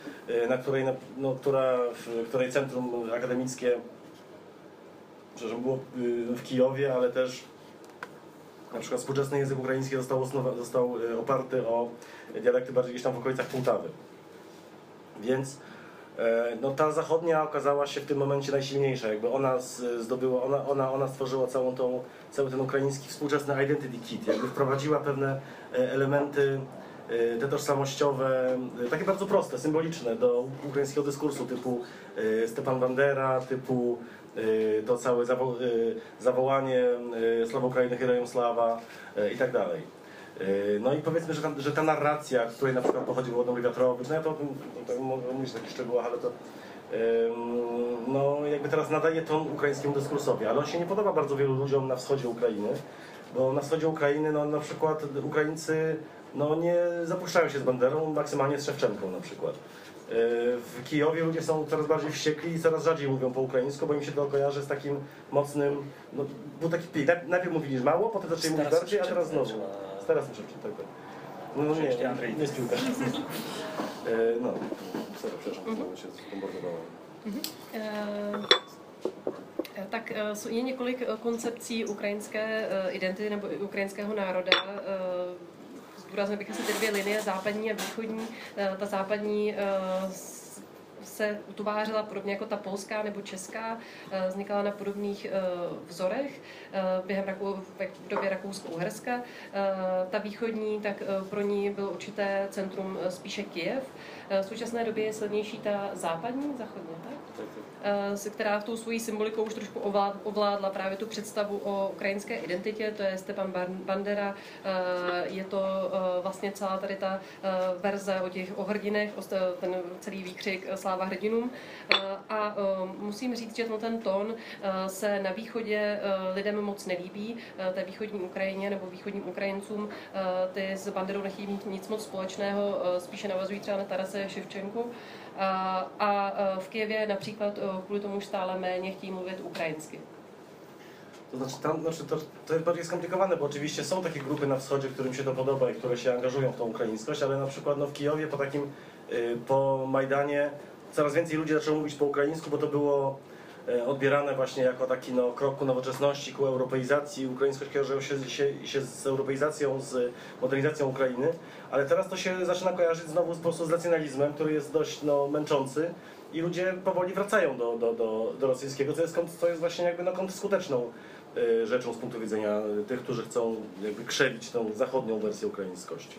której centrum akademickie było w Kijowie, ale też na przykład współczesny język ukraiński został oparty o dialekty bardziej gdzieś tam w okolicach Półtawy. Więc ta zachodnia okazała się w tym momencie najsilniejsza. Jakby ona ona stworzyła cały ten ukraiński współczesny identity kit. Jakby wprowadziła pewne elementy te tożsamościowe, takie bardzo proste, symboliczne do ukraińskiego dyskursu, typu Stepan Bandera, typu to całe zawołanie Sława Ukrainy, Herojem Sława i tak dalej. No i powiedzmy, że ta narracja, z której na przykład pochodził Włodomir Wiatrowicz, ja to o tym mogę mówić w takich szczegółach, ale to jakby teraz nadaje ton ukraińskiemu dyskursowi, ale on się nie podoba bardzo wielu ludziom na wschodzie Ukrainy, bo na wschodzie Ukrainy na przykład Ukraińcy nie zapuszczają się z Banderą, maksymalnie z Szewczenką na przykład. W Kijowie ludzie są coraz bardziej wściekli i coraz rzadziej mówią po ukraińsku, bo im się to kojarzy z takim mocnym, był taki pik. Najpierw mówili mało, potem zaczęli mówić bardziej, a teraz znowu. Teraz muszę czytać. Nie jest piłka. Przepraszam, się zbombardowałem. Tak je několik koncepcí ukrajinské identity nebo ukrajinského národa. Zdůraznil bych asi ty dvě linie, západní a východní. Ta západní se utvářela podobně jako ta polská nebo česká, vznikala na podobných vzorech v době Rakousko-Uherska. Ta východní, tak pro ní bylo určité centrum spíše Kyjev. V současné době je silnější ta zachodně, tak? Která v tou svojí symbolikou už trošku ovládla právě tu představu o ukrajinské identitě, to je Stepan Bandera, je to vlastně celá tady ta verze o těch hrdinech, ten celý výkřik Sláva hrdinům. A musím říct, že ten tón se na východě lidem moc nelíbí, té východní Ukrajině nebo východním Ukrajincům, ty s Banderou nechtějí mít nic moc společného, spíše navazují třeba na Tarase Ševčenku. A v Kyjevě například kvůli tomu už stále méně chtějí mluvit ukrajinsky. To jest bardziej skomplikowane, bo oczywiście są takie grupy na wschodzie, którym się to podoba i które się angażują w tą ukraińskość, ale na przykład w Kijowie po Majdanie coraz więcej ludzi zaczęło mówić po ukraińsku, bo to było odbierane właśnie jako taki krok ku nowoczesności, ku europeizacji. Ukraińskość kojarzyła się z europeizacją, z modernizacją Ukrainy, ale teraz to się zaczyna kojarzyć znowu po prostu z nacjonalizmem, który jest dość męczący i ludzie powoli wracają do rosyjskiego, co jest właśnie jakby kontrskuteczną rzeczą z punktu widzenia tych, którzy chcą jakby krzewić tą zachodnią wersję ukraińskości.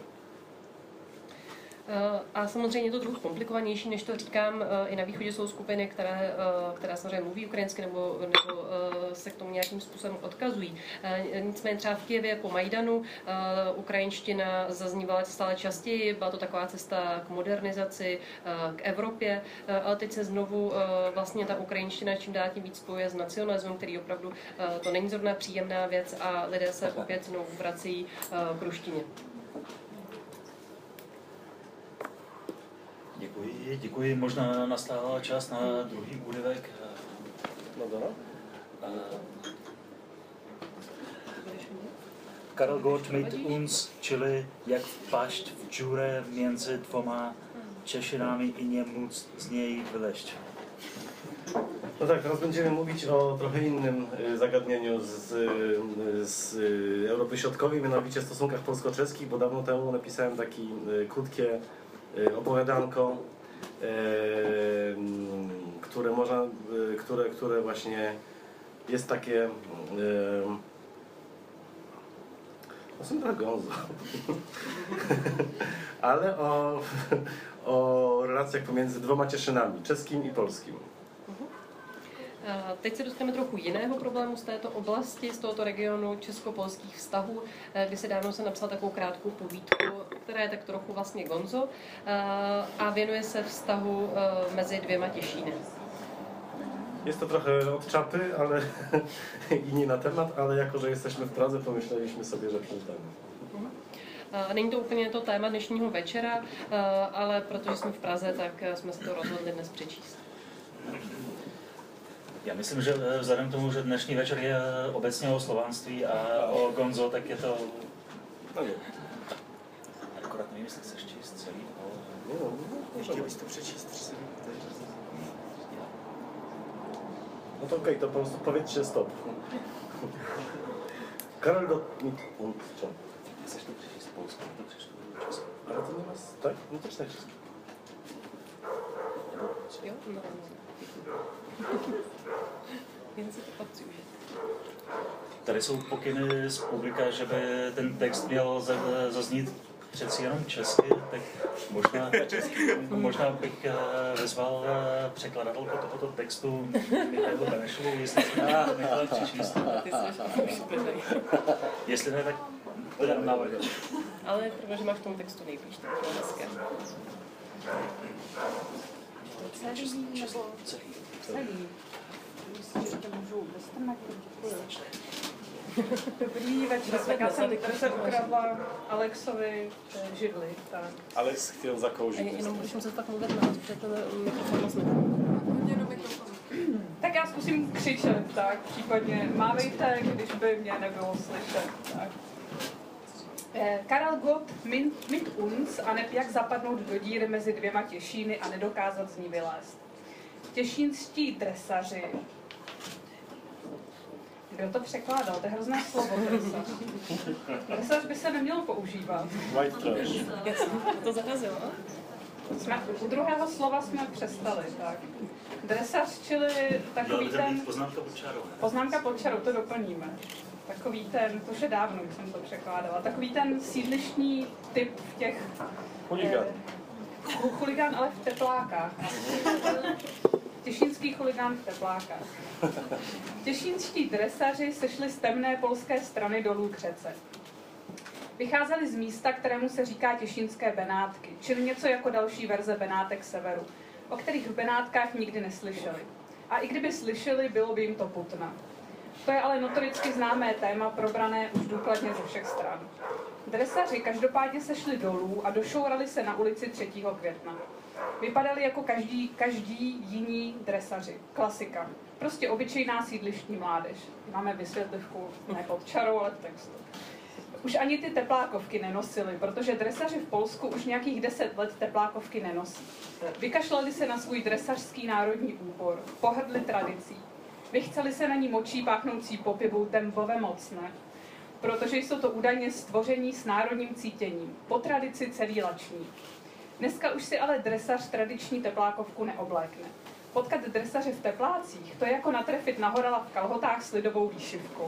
A samozřejmě je to trochu komplikovanější, než to říkám. I na východě jsou skupiny, které samozřejmě mluví ukrajinsky nebo se k tomu nějakým způsobem odkazují. Nicméně třeba v Kyjevě po Majdanu ukrajinština zaznívala stále častěji, byla to taková cesta k modernizaci, k Evropě, ale teď se znovu vlastně ta ukrajinština čím dál tím víc spojuje s nacionalismem, který opravdu to není zrovna příjemná věc a lidé se opět znovu vracejí k ruštině. Děkuji. Možná nastává čas na druhý úryvek. Karel Gott mit uns, čili jak vpašť v džure między dvoma Češinami i nie móc z niej wyleść. No tak, teraz będziemy mówić o trochę innym zagadnieniu z Europy Środkowej, mianowicie stosunkach polsko-czeskich, bo dawno temu napisałem takie krótkie opowiadanko, które właśnie jest takie są trochę gonzo, ale o relacjach pomiędzy dwoma Cieszynami, czeskim i polskim. Teď se dostaneme trochu jiného problému z této oblasti, z tohoto regionu česko-polských vztahů, kdy se dávno jsem napsal takovou krátkou povídku, která je tak trochu vlastně gonzo a věnuje se vztahu mezi dvěma Těšíny. Jest to trochę od czapy, ale i nie na temat, ale jako, że jesteśmy w Pradze, pomyśleliśmy sobie, że przeczytamy. Není to úplně to téma dnešního večera, ale protože jsme v Praze, tak jsme se to rozhodli dnes přečíst. Já myslím, že vzhledem k tomu, že dnešní večer je obecně o slovanství a o Gonzo, tak je to... Akorát nevím, jestli chceš číst celý, ale... Chtěl bys to přečíst? No to okej, to po prostu powiedzcie stop. Karol Gottlieb und co? Chceš to přečíst polsku, to přečtu česky. Ale to nie ma... Tak? No to czytaj česky. Jo? No. Jen si to pak přiužít. Tady jsou pokyny z publika, že by ten text měl zaznít přeci jenom česky, tak možná bych vyzval překladatelku tohoto textu Michalu Benešovu, jestli si nechala přečíst. Jestli ne, tak podám návrh. Ale protože máš v tom textu nejblíž, tak to je hezké. Celý nebo celý? Myslím, že ještě můžu dostrnat. Dobrý večer, tak já jsem se ukradla Alexovi židli. Tak. Alex chtěl zakouřit. Jenom když se tak mluvit na nás, protože to mikrofon moc Tak já zkusím křičet, tak případně mávejte, když by mě nebylo slyšet. Tak. Karel Gott mit uns a neb jak zapadnout do díry mezi dvěma Těšíny a nedokázat z ní vylézt. Těšínští dresaři. Kdo to překládal? To je hrozné slovo, dresař. Dresař by se nemělo používat. White trash. to zarazilo. U druhého slova jsme přestali, tak. Dresař, čili takový ten... Poznámka pod čarou. Poznámka pod čarou, to doplníme. Takový ten, to už je dávno, když jsem to překládala, takový ten sídlištní typ v těch... Chuligán. Chuligán, ale v teplákách. Těšínský chuligán v teplákách. Těšínští dresaři sešli z temné polské strany dolů k řece. Vycházeli z místa, kterému se říká Těšínské Benátky, čili něco jako další verze Benátek severu, o kterých v Benátkách nikdy neslyšeli. A i kdyby slyšeli, bylo by jim to putna. To je ale notoricky známé téma, probrané už důkladně ze všech stran. Dresaři každopádně sešli dolů a došourali se na ulici 3. května. Vypadali jako každý jiní dresaři. Klasika. Prostě obyčejná sídlištní mládež. Máme vysvětlivku ne pod čarou, ale v textu. Už ani ty teplákovky nenosili, protože dresaři v Polsku už nějakých 10 let teplákovky nenosí. Vykašlali se na svůj dresařský národní úbor, pohrdli tradicí. Vychceli se na ní močí páchnoucí po pivu tembové mocné, protože jsou to údajně stvoření s národním cítěním, po tradici celý lační. Dneska už si ale dresař tradiční teplákovku neoblékne. Potkat dresaře v teplácích, to je jako natrefit na horala v kalhotách s lidovou výšivkou.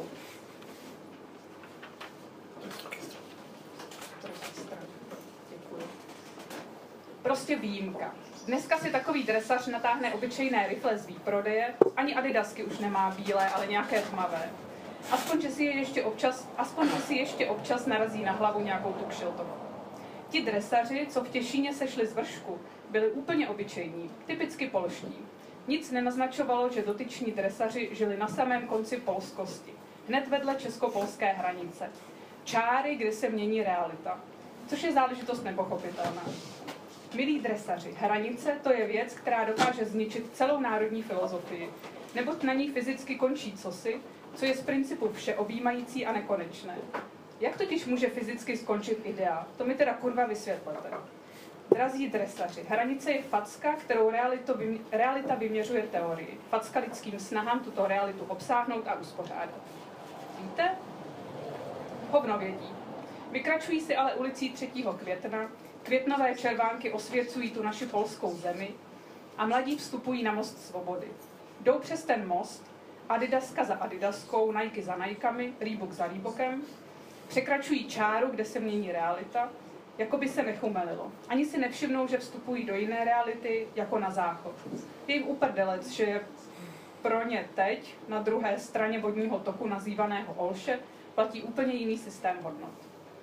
Prostě výjimka. Dneska si takový dresař natáhne obyčejné rifle z výprodeje, ani adidasky už nemá bílé, ale nějaké tmavé. Aspoň, že si ještě občas narazí na hlavu nějakou tu kšiltovku. Ti dresaři, co v Těšíně sešli z vršku, byli úplně obyčejní, typicky polští. Nic nenaznačovalo, že dotyční dresaři žili na samém konci polskosti, hned vedle česko-polské hranice. Čáry, kde se mění realita, což je záležitost nepochopitelná. Milí dresaři, hranice to je věc, která dokáže zničit celou národní filozofii, neboť na ní fyzicky končí cosi, co je z principu všeobjímající a nekonečné. Jak totiž může fyzicky skončit idea? To mi teda kurva vysvětlete. Drazí dresaři, hranice je facka, kterou realita vyměřuje teorii. Facka lidským snahám tuto realitu obsáhnout a uspořádat. Víte? Hovno vědí. Vykračují si ale ulicí 3. května, květnové červánky osvěcují tu naši polskou zemi a mladí vstupují na most svobody. Jdou přes ten most, adidaska za adidaskou, Nike za Nikami, Reebok za Reebokem, překračují čáru, kde se mění realita, jako by se nechumelilo. Ani si nevšimnou, že vstupují do jiné reality, jako na záchod. Je jim uprdelec, že je pro ně teď, na druhé straně vodního toku nazývaného Olše, platí úplně jiný systém hodnot.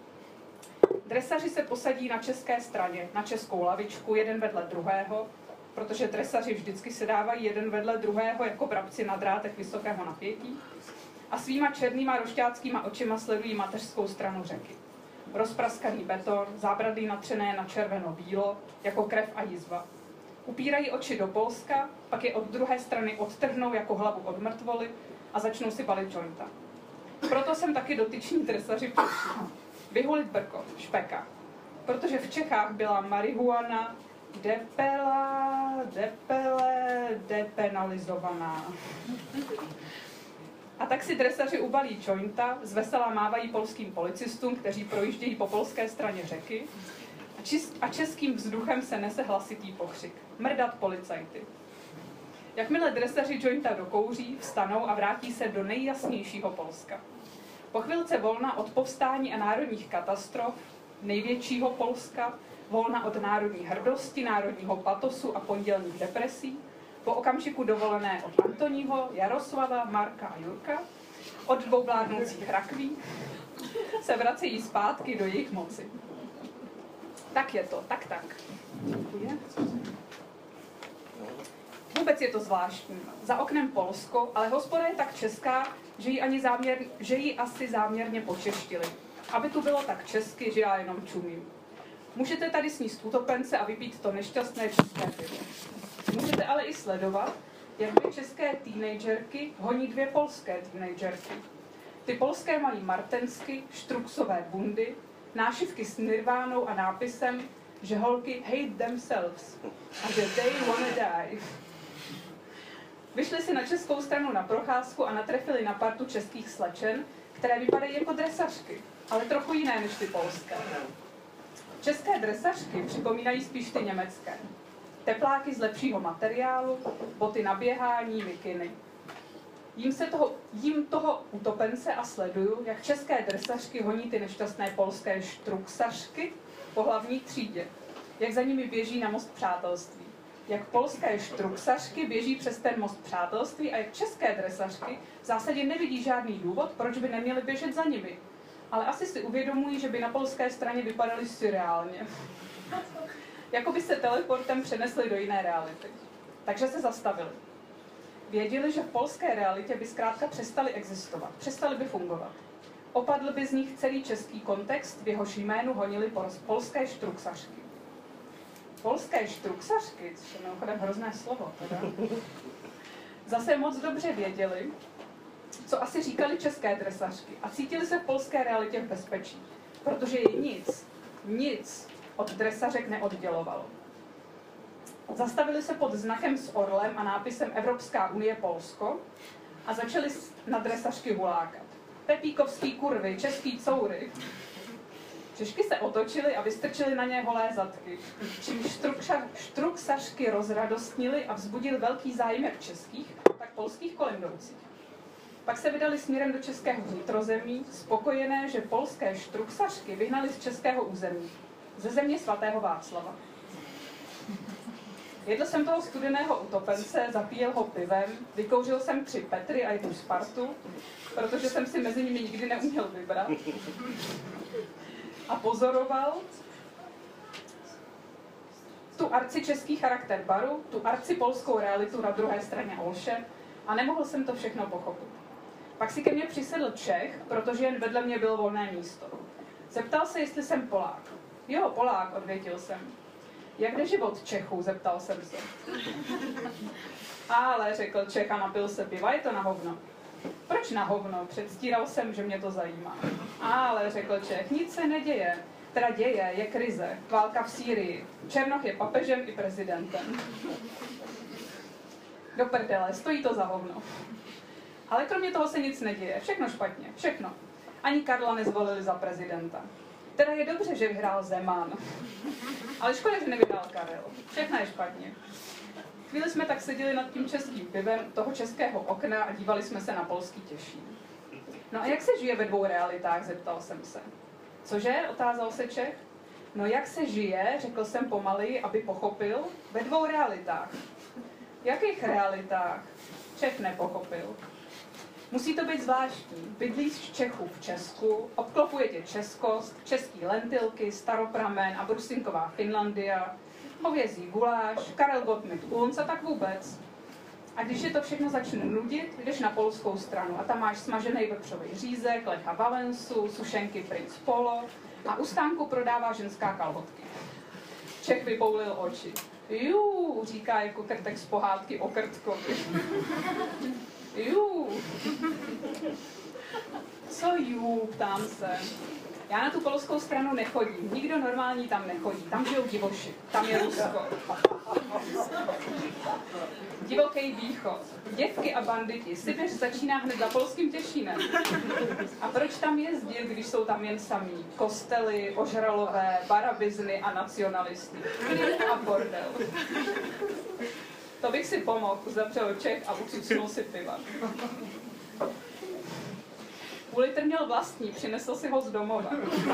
Dresaři se posadí na české straně, na českou lavičku, jeden vedle druhého, protože dresaři vždycky se dávají jeden vedle druhého jako vrabci na drátech vysokého napětí a svýma černýma rošťáckýma očima sledují mateřskou stranu řeky. Rozpraskaný beton, zábradlí natřené na červeno-bílo, jako krev a jizva. Upírají oči do Polska, pak je od druhé strany odtrhnou jako hlavu od mrtvoly a začnou si balit jointa. Proto jsem taky dotyční dresaři přišli. Vyhulit brko, špeka. Protože v Čechách byla marihuana depenalizovaná. A tak si dresaři ubalí jointa, zvesela mávají polským policistům, kteří projíždějí po polské straně řeky a českým vzduchem se nese hlasitý pokřik. Mrdat policajty. Jakmile dresaři jointa dokouří, vstanou a vrátí se do nejjasnějšího Polska. Po chvilce volna od povstání a národních katastrof, největšího Polska, volna od národní hrdosti, národního patosu a pondělních depresí, po okamžiku dovolené od Antoního, Jaroslava, Marka a Jurka, od dvou vládnoucích rakví, se vracejí zpátky do jejich moci. Tak je to, tak. Děkuji. Vůbec je to zvláštní. Za oknem Polsko, ale hospoda je tak česká, že ji asi záměrně počeštili. Aby tu bylo tak česky, že já jenom čumím. Můžete tady sníst utopence a vypít to nešťastné české pivo. Můžete ale i sledovat, jak dvě české teenagerky honí dvě polské teenagerky. Ty polské mají martensky, štruksové bundy, nášivky s nirvánou a nápisem, že holky hate themselves a že they wanna die. Vyšli si na českou stranu na procházku a natrefili na partu českých slečen, které vypadají jako dresařky, ale trochu jiné než ty polské. České dresařky připomínají spíš ty německé. Tepláky z lepšího materiálu, boty na běhání, mikiny. Jím toho utopence a sleduju, jak české dresařky honí ty nešťastné polské štruksařky po hlavní třídě, jak za nimi běží na most přátelství. Jak polské štruksařky běží přes ten most přátelství a jak české dresařky v zásadě nevidí žádný důvod, proč by neměly běžet za nimi. Ale asi si uvědomují, že by na polské straně vypadaly surreálně. Jako by se teleportem přenesli do jiné reality. Takže se zastavili. Věděli, že v polské realitě by zkrátka přestali existovat, přestali by fungovat. Opadl by z nich celý český kontext, v jehož jménu honili polské štruksařky. Polské štruksařky, což je mimochodem hrozné slovo, teda, zase moc dobře věděli, co asi říkali české dresařky a cítili se v polské realitě v bezpečí, protože je nic od dresařek neoddělovalo. Zastavili se pod znakem s orlem a nápisem Evropská unie Polsko a začali na dresařky hulákat. Pepíkovský kurvy, český coury. Češky se otočily a vystrčily na ně holé zadky, čímž štruksařky rozradostnili a vzbudili velký zájem jak českých, tak polských kolem jdoucích. Pak se vydali směrem do českého vnitrozemí, spokojené, že polské štruksařky vyhnali z českého území, ze země svatého Václava. Jedl jsem toho studeného utopence, zapíjel ho pivem, vykouřil jsem 3 Petry a 1 Spartu, protože jsem si mezi nimi nikdy neuměl vybrat. A pozoroval tu arcičeský charakter baru, tu arcipolskou realitu na druhé straně Olše a nemohl jsem to všechno pochopit. Pak si ke mně přisedl Čech, protože jen vedle mě bylo volné místo. Zeptal se, jestli jsem Polák. Jo, Polák, odvětil jsem. Jak jde život Čechů, zeptal jsem se. Ale, řekl Čech a napil se piva, je to na hovno. Proč na hovno? Předstíral jsem, že mě to zajímá. Ale, řekl Čech, nic se neděje. Teda děje, je krize, válka v Sýrii. Černoch je papežem i prezidentem. Do prdele, stojí to za hovno. Ale kromě toho se nic neděje, všechno špatně, všechno. Ani Karla nezvolili za prezidenta. Teda je dobře, že vyhrál Zeman. Ale škoda, že nevyhrál Karel. Všechno je špatně. Chvíli jsme tak seděli nad tím českým pivem toho českého okna a dívali jsme se na polský Těšín. No a jak se žije ve 2 realitách, zeptal jsem se. Cože? Otázal se Čech. No jak se žije, řekl jsem pomaleji, aby pochopil, ve 2 realitách. Jakých realitách? Čech nepochopil. Musí to být zvláštní. Bydlíš v Čechu v Česku, obklopuje tě českost, český lentilky, staropramen a brusinková Finlandia. hovězí guláš, Karel Gott mit uns a tak vůbec. A když je to všechno začne nudit, jdeš na polskou stranu a tam máš smažený vepřový řízek, Lecha Valensu, sušenky Prince Polo a u stánku prodává ženská kalhotky. Čech vypoulil oči. Jú, říká jako krtek z pohádky o Krtkovi. Jú. Co jú, ptám se. Já na tu polskou stranu nechodím, nikdo normální tam nechodí, tam žijou divoši, tam je Rusko. Divoký východ, děvky a banditi, Sibiř začíná hned za polským Těšínem. A proč tam jezdit, když jsou tam jen samí? Kostely, ožralové, barabizny a nacionalisty. Klid a bordel. To bych si pomohl, uzavřel Čech a ucucnul si piva. Půl litr měl vlastní, přinesl si ho z domova.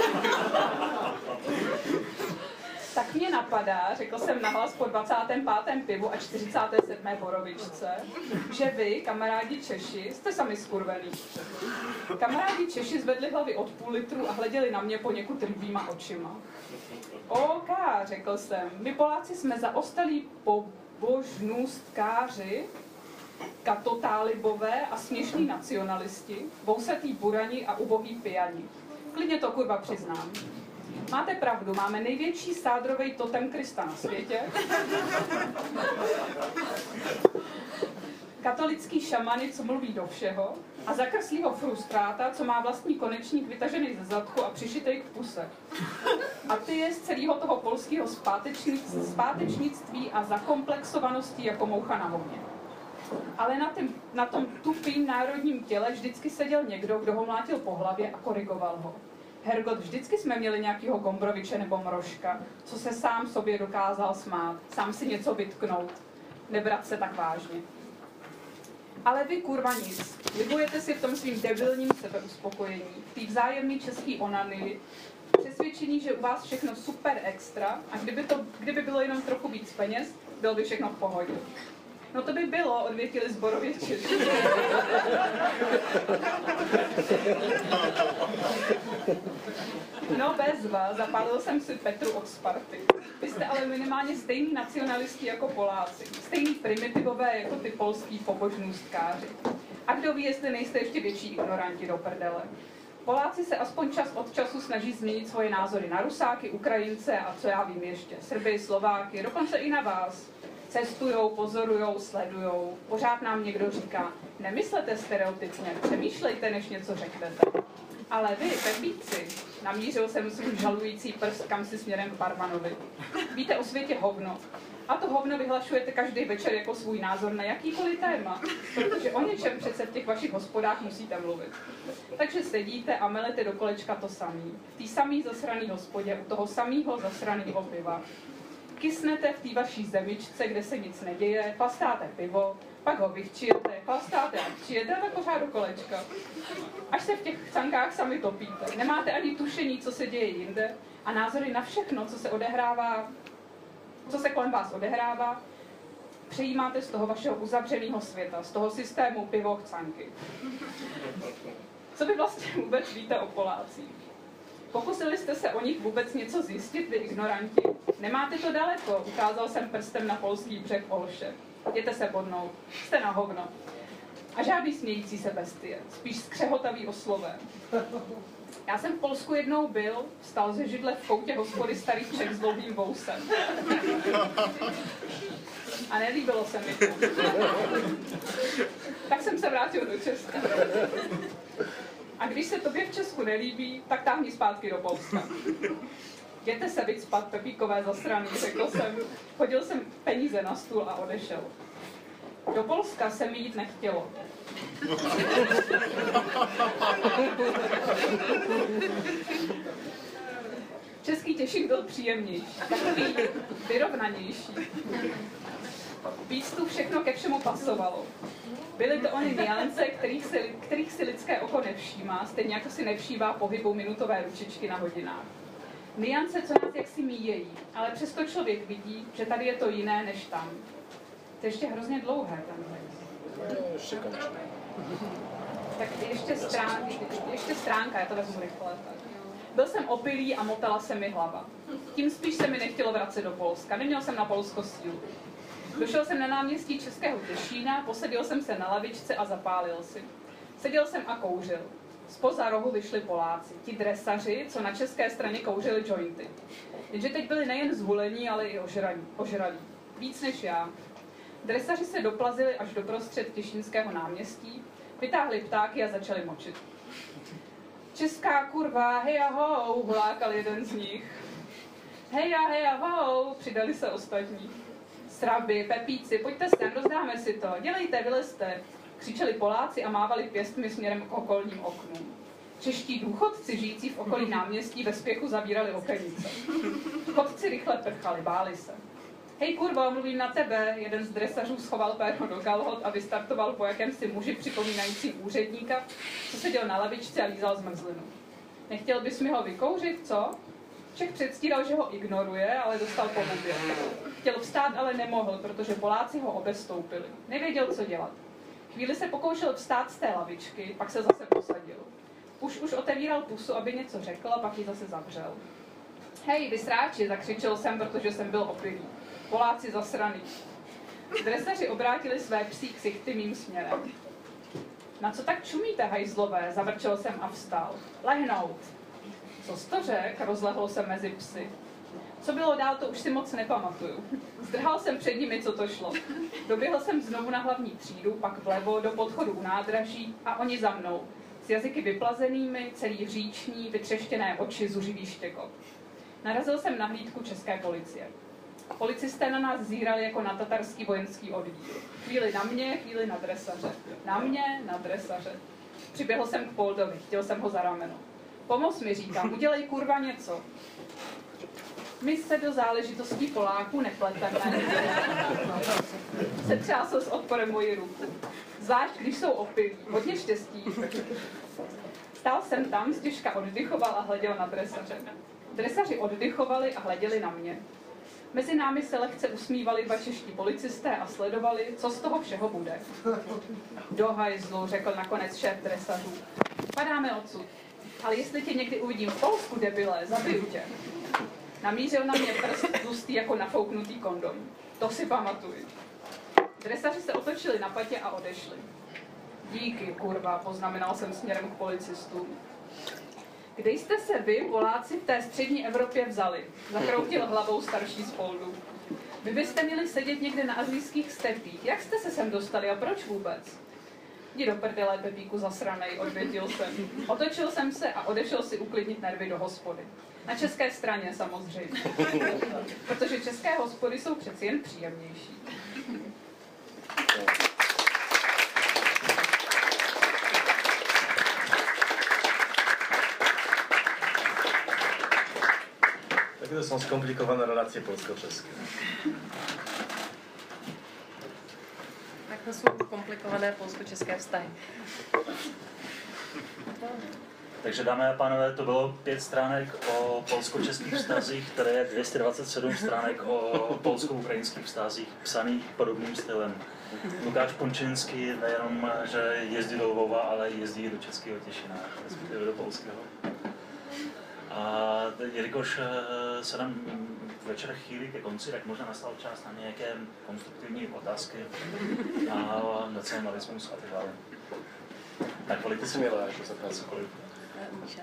Tak mě napadá, řekl jsem nahlas po 25. pivu a 47. borovičce, že vy, kamarádi Češi, jste sami skurvený. Kamarádi Češi zvedli hlavy od půl litru a hleděli na mě poněkud rybýma očima. OK, řekl jsem, my Poláci jsme zaostalí pobožnůstkáři, katotálibové a směšní nacionalisti, vousatý burani a ubohý pijani. Klidně to kurva přiznám. Máte pravdu, máme největší sádrovej totem Krista na světě. Katolický šamany, co mluví do všeho, a zakrslýho frustráta, co má vlastní konečník vytažený ze zadku a přišitej k puse. A ty je z celého toho polského zpátečnictví a zakomplexovaností jako moucha na hovně. Ale na tom tupým národním těle vždycky seděl někdo, kdo ho mlátil po hlavě a korigoval ho. Hergot, vždycky jsme měli nějakého Gombroviče nebo Mrožka, co se sám sobě dokázal smát, sám si něco vytknout, nebrat se tak vážně. Ale vy kurva nic, libujete si v tom svým debilním sebeuspokojení, v té vzájemný český onany, přesvědčení, že u vás všechno super extra a kdyby bylo jenom trochu víc peněz, bylo by všechno v pohodě. No to by bylo, odvětili zborově Češi. No bezva, zapálil jsem si Petru od Sparty. Vy jste ale minimálně stejný nacionalisti jako Poláci. Stejný primitivové jako ty polský pobožnůstkáři. A kdo ví, jestli nejste ještě větší ignoranti do prdele. Poláci se aspoň čas od času snaží změnit svoje názory na Rusáky, Ukrajince a co já vím ještě, Srby, Slováky, dokonce i na vás. Cestujou, pozorujou, sledujou. Pořád nám někdo říká, nemyslete stereotypně, přemýšlejte, než něco řeknete. Ale vy, pepíci, namířil jsem svůj žalující prst kamsi směrem k barmanovi. Víte o světě hovno. A to hovno vyhlašujete každý večer jako svůj názor na jakýkoliv téma, protože o něčem přece v těch vašich hospodách musíte mluvit. Takže sedíte a melete do kolečka to samý. V té samý zasraný hospodě, u toho samého zasraného piva. Kysnete v té vaší zemičce, kde se nic neděje, chlastáte pivo, pak ho vychčijete, chlastáte a chčijete a tak pořád do kolečka. Až se v těch chcankách sami topíte. Nemáte ani tušení, co se děje jinde a názory na všechno, co se kolem vás odehrává, přejímáte z toho vašeho uzavřeného světa, z toho systému pivo-chcanky. Co vy vlastně vůbec víte o Polácích? Pokusili jste se o nich vůbec něco zjistit, vy ignoranti? Nemáte to daleko, ukázal jsem prstem na polský břeh Olše. Jděte se bodnout, jste na hovno. A žádný smějící se bestie, spíš skřehotavý oslové. Já jsem v Polsku jednou byl, vstal ze židle v koutě hospody starý Čech s dlouhým vousem. A nelíbilo se mi to. Tak jsem se vrátil do Česka. A když se tobě v Česku nelíbí, tak táhni zpátky do Polska. Jděte se vycpat, pepíkové zasraný, řekl jsem. Hodil jsem peníze na stůl a odešel. Do Polska se mi jít nechtělo. Český Těšín byl příjemnější, takový vyrovnanější. Víc tu všechno ke všemu pasovalo. Byly to ony niance, kterých si lidské oko nevšímá, stejně jako si nevšívá pohybu minutové ručičky na hodinách. Niance, co nás jaksi míjejí, ale přesto člověk vidí, že tady je to jiné než tam. To je ještě hrozně dlouhé tenhle. Tak ještě stránka, já to vezmu rychle. Byl jsem opilý a motala se mi hlava. Tím spíš se mi nechtělo vracet do Polska. Neměl jsem na Polsko sílu. Došel jsem na náměstí Českého Těšína, posadil jsem se na lavičce a zapálil si. Seděl jsem a kouřil. Zpoza rohu vyšli Poláci, ti dresaři, co na české straně kouřili jointy. Jenže teď byli nejen zhulení, ale i ožralí. Víc než já. Dresaři se doplazili až do prostřed Těšínského náměstí, vytáhli ptáky a začali močit. Česká kurva, hej ahou, hulákal jeden z nich. Hej ahou, přidali se ostatní. Sraby, pepíci, pojďte sem, rozdáme si to, dělejte, vylezte. Křičeli Poláci a mávali pěstmi směrem k okolním oknům. Čeští důchodci žijící v okolí náměstí ve spěchu zavírali okenice. Chodci rychle prchali, báli se. Hej kurvo, mluvím na tebe, jeden z dresařů schoval péro do kalhot a vystartoval po jakémsi muži připomínajícím úředníka, co seděl na lavičce a lízal zmrzlinu. Nechtěl bys mi ho vykouřit, co? Čech předstíral, že ho ignoruje, ale dostal po hubě. Chtěl vstát, ale nemohl, protože Poláci ho obestoupili. Nevěděl, co dělat. Chvíli se pokoušel vstát z té lavičky, pak se zase posadil. Už otevíral pusu, aby něco řekl, a pak ji zase zavřel. Hej, vy sráči, zakřičel jsem, protože jsem byl opilý. Poláci zasraný. Dresaři obrátili své psí ksichty mým směrem. Na co tak čumíte, hajzlové? Zavrčel jsem a vstal. Lehnout. Co jsi to řek? Rozlehl se mezi psy. Co bylo dál, to už si moc nepamatuju. Zdrhal jsem před nimi, co to šlo. Doběhl jsem znovu na hlavní třídu, pak vlevo do podchodu u nádraží a oni za mnou. S jazyky vyplazenými, celý hříční, vytřeštěné oči, zuřivý štěkot. Narazil jsem na hlídku české policie. Policisté na nás zírali jako na tatarský vojenský oddíl. Chvíli na mě, chvíli na dresaře. Na mě, na dresaře. Přiběhl jsem k Poldovi, chtěl jsem ho za rameno. Pomoz mi, říkám, udělej kurva něco. My se do záležitostí Poláků nepleteme. Setřásl s odporem moji ruku. Zvlášť, když jsou opilí. Hodně štěstí. Stál jsem tam, stěžka oddychoval a hleděl na dresaře. Dresaři oddychovali a hleděli na mě. Mezi námi se lehce usmívali dva čeští policisté a sledovali, co z toho všeho bude. Do hajzlu, řekl nakonec šéf dresařů. Padáme odsud. Ale jestli tě někdy uvidím v Polsku, debile, zabiju tě. Namířil na mě prst tlustý jako nafouknutý kondom. To si pamatuji. Dresaři se otočili na patě a odešli. Díky, kurva, poznamenal jsem směrem k policistům. Kde jste se vy, Poláci, v té střední Evropě vzali? Zakroutil hlavou starší z Poldu. Vy byste měli sedět někde na asijských stepích. Jak jste se sem dostali a proč vůbec? Jdi do prdele, Pepíku zasranej, odvětil jsem. Otočil jsem se a odešel si uklidnit nervy do hospody. Na české straně samozřejmě. Protože české hospody jsou přeci jen příjemnější. Takie to są skomplikowane relacje polsko-czeskie. Tak to jsou komplikované polsko-české vztahy. Takže dámy a pánové, to bylo 5 stránek o polsko-českých vztazích, které je 227 stránek o polsko-ukrajinských vztazích, psaných podobným stylem. Lukáš Pončinský nejenom, že jezdí do Lvova, ale jezdí do Českého Těšína, respektive do polského. A jelikož se nám večer chýlí ke konci, tak možná nastal čas na nějaké konstruktivní otázky a nacionalismus a tak dále. Tak volíte si měla, jako se ptá cokoliv. Míša?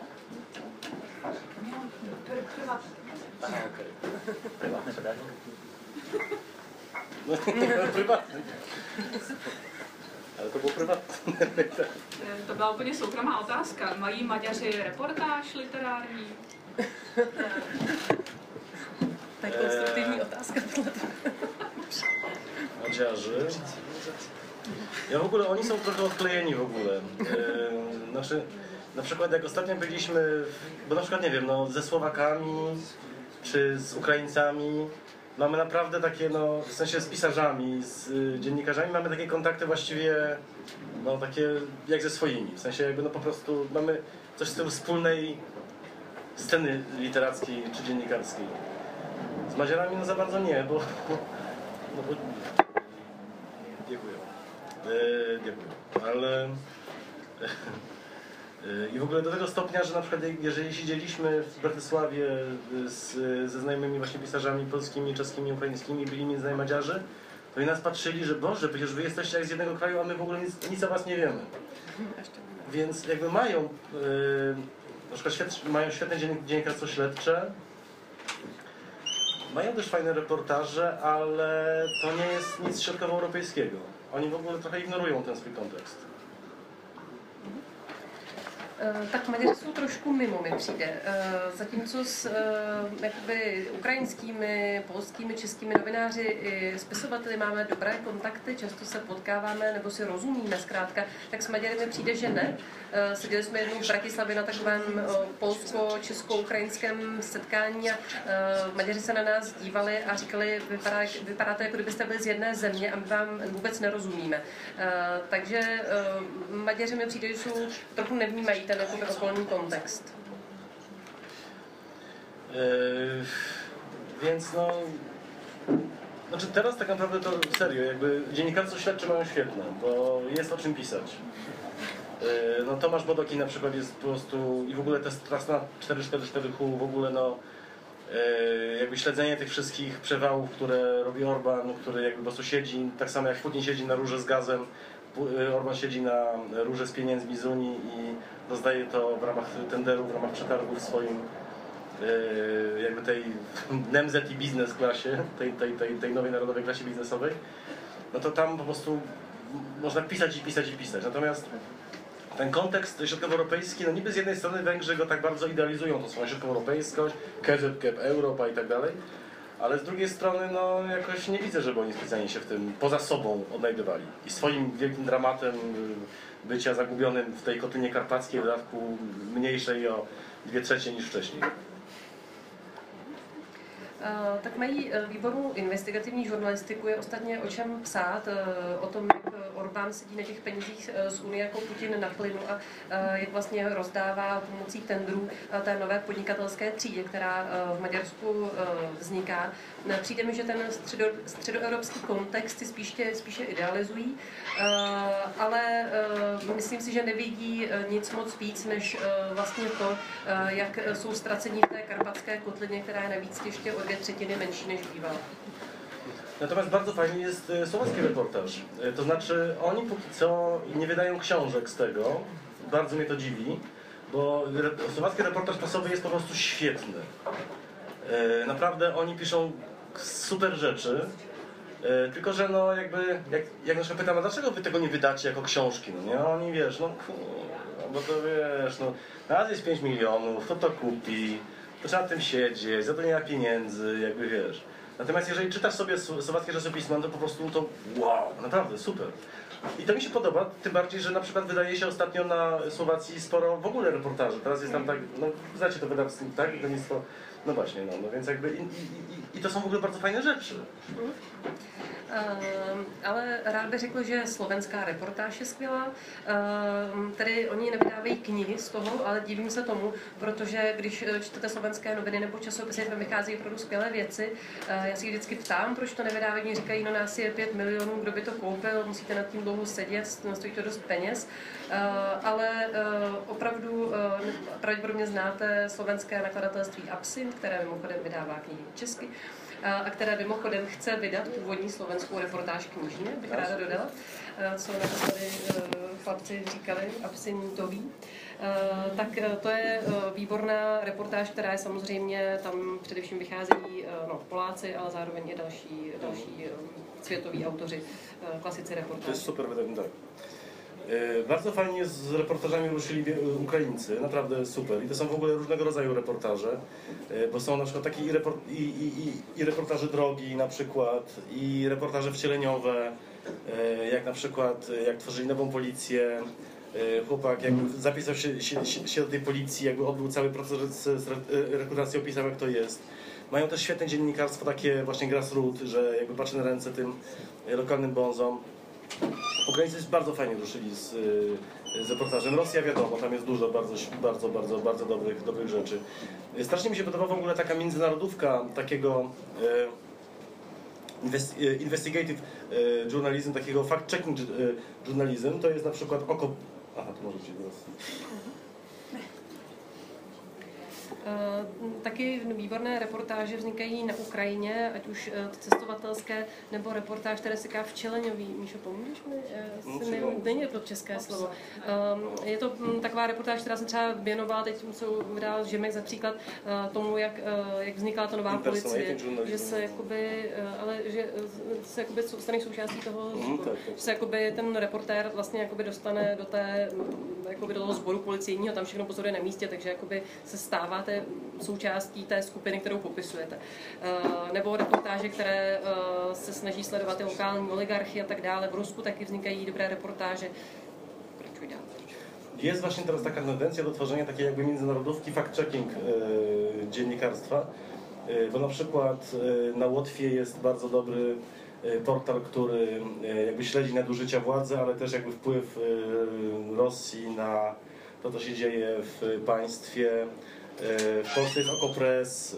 Aha, okej. Privátne pedagog? Prywatny. Ale to bylo privátní. To byla úplně soukromá otázka. Mají Maďaři reportáž literární? To je konstruktivní otázka. Maďarzy. Ja w ogóle, oni są trochę odklejeni w ogóle. Znaczy, na przykład jak ostatnio byliśmy, bo na przykład nie wiem, no, ze Słowakami czy z Ukraińcami mamy naprawdę takie, no, w sensie z pisarzami, z dziennikarzami mamy takie kontakty właściwie, no, takie jak ze swoimi. W sensie jakby, no, po prostu mamy coś z tyłu wspólnej sceny literackiej czy dziennikarskiej. Z Madziarami no za bardzo nie, bo dziękuję. Dziękuję. Ale I w ogóle do tego stopnia, że na przykład jeżeli siedzieliśmy w Bratysławie ze znajomymi właśnie pisarzami polskimi, czeskimi, ukraińskimi, byli między nami Madziarzy, to i nas patrzyli, że Boże, przecież wy jesteście jak z jednego kraju, a my w ogóle nic o was nie wiemy. Więc jakby mają, na przykład mają świetne dziennikarstwo śledcze, mają też fajne reportaże, ale to nie jest nic środkowoeuropejskiego. Oni w ogóle trochę ignorują ten swój kontekst. Tak Maďaři jsou trošku mimo, mi přijde. Zatímco s jakoby ukrajinskými, polskými, českými novináři i spisovateli máme dobré kontakty, často se potkáváme nebo si rozumíme zkrátka, tak s Maďary mi přijde, že ne. Seděli jsme jednou v Bratislavě na takovém polsko-česko-ukrajinském setkání a Maďaři se na nás dívali a říkali, vypadáte, jako kdybyste byli z jedné země a my vám vůbec nerozumíme. Takže Maďaři mi přijde, že jsou trochu nevnímají ten jakoby okolní kontext. Więc no... Znaczy teraz tak naprawdę to serio, jakby dziennikarstwo śledcze mają świetne, bo jest o czym pisać. No Tomasz Bodoki na przykład jest po prostu i w ogóle ta straszna 444Hu w ogóle no jakby śledzenie tych wszystkich przewałów, które robi Orban, który jakby po prostu siedzi, tak samo jak Putin siedzi na rurze z gazem, Orban siedzi na rurze z pieniędzmi z Unii i rozdaje to w ramach tenderów, w ramach przetargów swoim jakby tej NMZ i biznes klasie, tej nowej narodowej klasie biznesowej, no to tam po prostu można pisać i pisać i pisać. Natomiast ten kontekst środkowoeuropejski, no niby z jednej strony Węgrzy go tak bardzo idealizują, to swoją środkowoeuropejskość, KZK, Europa i tak dalej, ale z drugiej strony no jakoś nie widzę, żeby oni specjalnie się w tym poza sobą odnajdywali. I swoim wielkim dramatem bycia zagubionym w tej kotlinie karpackiej, w dodatku mniejszej o 2/3 niż wcześniej. Tak mají výbornou investigativní žurnalistiku, je ostatně o čem psát, o tom, jak Orbán sedí na těch penězích z Unie jako Putin na plynu a jak vlastně rozdává pomocí tendrů té nové podnikatelské třídě, která v Maďarsku vzniká. Přijde mi, že ten středoevropský kontext si spíše idealizují, ale myslím si, že nevidí nic moc víc, než vlastně to, jak jsou ztraceni v té karpatské kotlině, která je navíc ještě o 2/3 menší než bývala. Natomiast bardzo fajny jest słowacki reportaż. To znaczy oni póki co nie wydają książek z tego. Bardzo mnie to dziwi, bo słowacki reportaż prasowy jest po prostu świetny. Naprawdę oni piszą super rzeczy. Tylko że no jakby, jak na przykład pytam, a dlaczego wy tego nie wydacie jako książki? No nie, oni wiesz, no bo to wiesz, no raz jest 5 milionów, to kupi, to trzeba tym siedzieć, za to nie ma pieniędzy, jakby wiesz. Natomiast jeżeli czytasz sobie słowackie czasopisma, to po prostu to wow, naprawdę super. I to mi się podoba, tym bardziej, że na przykład wydaje się ostatnio na Słowacji sporo w ogóle reportaży. Teraz jest tam tak, no znacie to wydawnictwo, tak? Wydawnictwo, no właśnie, no więc jakby i to są w ogóle bardzo fajne rzeczy. Ale rád bych řekl, že slovenská reportáž je skvělá. Tedy oni nevydávají knihy z toho, ale divím se tomu, protože když čtete slovenské noviny nebo časopisy, tam vycházejí opravdu skvělé věci. Já si vždycky ptám, proč to nevydávají. Oni říkají, no nás je 5 milionů, kdo by to koupil, musíte nad tím dlouho sedět, stojí to dost peněz. Ale opravdu pravděpodobně znáte slovenské nakladatelství Absint, které mimochodem vydává knihy česky a které mimochodem chce vydat původní slovenskou reportáž knižně, bych ráda dodala, co na to tady chlapci říkali, absintový. Tak to je výborná reportáž, která je samozřejmě, tam především vycházejí Poláci, ale zároveň i další světoví autoři, klasicy reportáže. To jest super, tak. Bardzo fajnie z reportażami ruszyli Ukraińcy, naprawdę super. I to są w ogóle różnego rodzaju reportaże, bo są na przykład takie i reportaże drogi na przykład, i reportaże wcieleniowe, jak na przykład jak tworzyli nową policję. Chłopak jakby zapisał się do tej policji, jakby odbył cały proces rekrutacji, opisał jak to jest. Mają też świetne dziennikarstwo, takie właśnie grassroots, że jakby patrzy na ręce tym lokalnym bonzom. Ukraińcy bardzo fajnie ruszyli z reportażem. Rosja wiadomo, tam jest dużo bardzo dobrych rzeczy. Strasznie mi się podoba w ogóle taka międzynarodówka takiego investigative journalism, takiego fact-checking journalism. To jest na przykład Oko... Aha, to możecie teraz... Taky výborné reportáže vznikají na Ukrajině, ať už cestovatelské, nebo reportáž, které se říká Včeleňový. Míšo, pomůžeš mi? Není to české slovo. Je to taková reportáž, která se třeba věnovala, teď jsou vydal Žimek za příklad tomu, jak vznikla ta nová policie, že se jakoby, ale že se jakoby stane součástí toho, že se jakoby ten reportér vlastně jakoby dostane do té, jakoby do toho sboru policejního, tam všechno pozoruje na místě, takže jakoby se stává součástí té skupiny, kterou popisujete. Nebo reportáže, které se snaží sledovat ty lokální oligarchy a tak dále. V Rusku taky vznikají dobré reportáže. Pokračuj dál. Jest właśnie teraz taka tendencja do tworzenia takiej jakby międzynarodówki fact-checking dziennikarstwa, bo na przykład na Łotwie jest bardzo dobry portal, który jakby śledzi nadużycia władzy, ale też jakby wpływ Rosji na to, co się dzieje w państwie. W Polsce jest Okopres,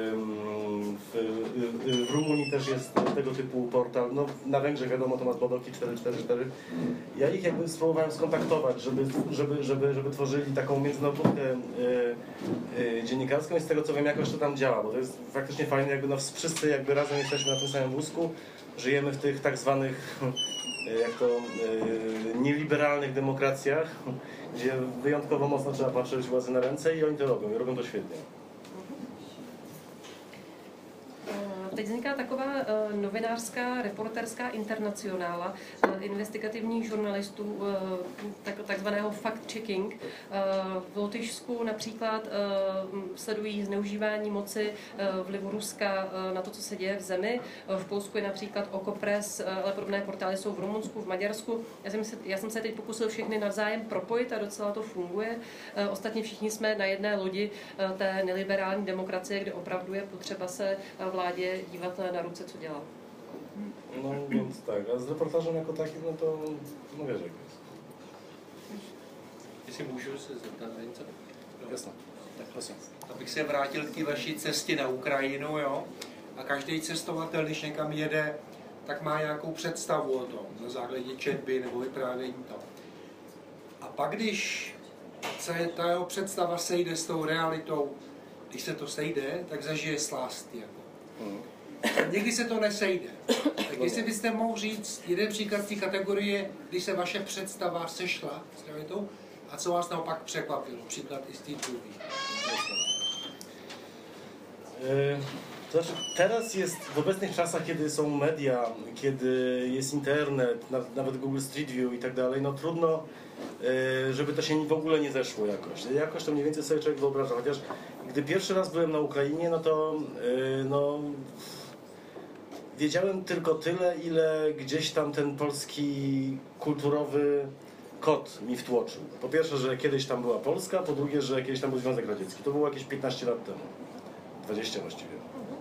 w Rumunii też jest tego typu portal, no, na Węgrzech wiadomo Tomasz Bodoki 444. Ja ich jakby spróbowałem skontaktować, żeby tworzyli taką międzynarodówkę dziennikarską i z tego co wiem jakoś to tam działa, bo to jest faktycznie fajne, jakby no, wszyscy jakby razem jesteśmy na tym samym wózku, żyjemy w tych tak zwanych jak to nieliberalnych demokracjach, gdzie wyjątkowo mocno trzeba patrzeć władzy na ręce i oni to robią i robią to świetnie. Teď vzniká taková novinářská, reporterská internacionála investigativních žurnalistů, takzvaného fact-checking. V Lotyšsku například sledují zneužívání moci vlivu Ruska na to, co se děje v zemi. V Polsku je například Okopres, ale podobné portály jsou v Rumunsku, v Maďarsku. Já jsem se teď pokusil všechny navzájem propojit a docela to funguje. Ostatně všichni jsme na jedné lodi té neliberální demokracie, kde opravdu je potřeba se vládě dívat na ruce, co dělá. No więc tak, a z reportażem jako takim, no to no wiesz jak jest. Jestli můžu se zeptat něco? Jasně, tak prosím. Abych se vrátil k té vaší cestě na Ukrajinu, jo? A každý cestovatel, když někam jede, tak má nějakou představu o tom, na základě četby nebo vyprávění to. A pak, když se ta jeho představa sejde s tou realitou, když se to sejde, tak zažije slást. Jako. Někdy se to nesejde. Tak jestli byste mohl říct jeden příklad z té kategorie, když se vaše představa sešla s realitou, a co vás naopak překvapilo, příklad i z té druhé. To znaczy, teraz jest, w obecnych czasach, kiedy są media, kiedy jest internet, nawet Google Street View i tak dalej, no trudno, żeby to się w ogóle nie zeszło jakoś. Jakoś to mniej więcej sobie człowiek wyobraża, chociaż gdy pierwszy raz byłem na Ukrainie, no to no, wiedziałem tylko tyle, ile gdzieś tam ten polski kulturowy kod mi wtłoczył. Po pierwsze, że kiedyś tam była Polska, po drugie, że kiedyś tam był Związek Radziecki. To było jakieś 15 lat temu. 20 właściwie.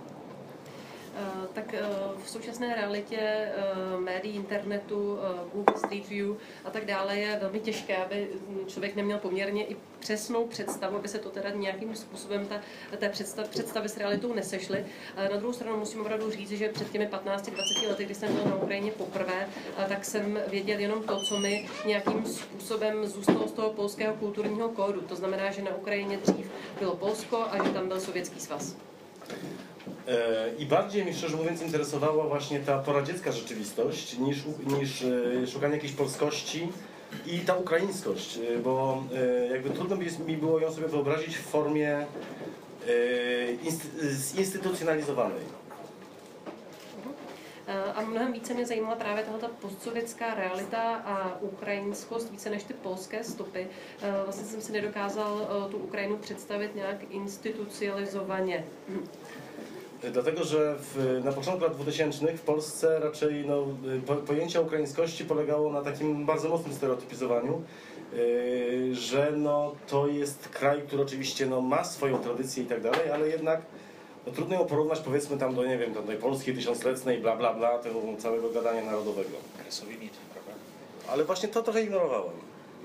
Tak v současné realitě médií, internetu, Google Street View a tak dále je velmi těžké, aby člověk neměl poměrně i přesnou představu, aby se to teda nějakým způsobem té představy s realitou nesešly. Na druhou stranu musím opravdu říct, že před těmi 15-20 lety, kdy jsem byl na Ukrajině poprvé, tak jsem věděl jenom to, co mi nějakým způsobem zůstalo z toho polského kulturního kódu. To znamená, že na Ukrajině dřív bylo Polsko a že tam byl Sovětský svaz. I bardziej mnie szczerze mówiąc interesowała właśnie ta poradziecka rzeczywistość niż szukanie jakiejś polskości i ta ukraińskość, bo jakby trudno mi było ją sobie wyobrazić w formie zinstytucjonalizowanej. A mnohem více mě zajímala právě tato postsovětská realita a ukrajinskost více než ty polské stopy. Vlastně jsem si nedokázal tu Ukrajinu představit nějak institucionalizovaně. Dlatego, że na początku lat 2000 w Polsce raczej no, pojęcie ukraińskości polegało na takim bardzo mocnym stereotypizowaniu, że no, to jest kraj, który oczywiście no, ma swoją tradycję i tak dalej, ale jednak no, trudno ją porównać powiedzmy tam do, nie wiem, do tej Polski tysiącletniej, bla bla bla, tego całego gadania narodowego. Ale właśnie to trochę ignorowałem.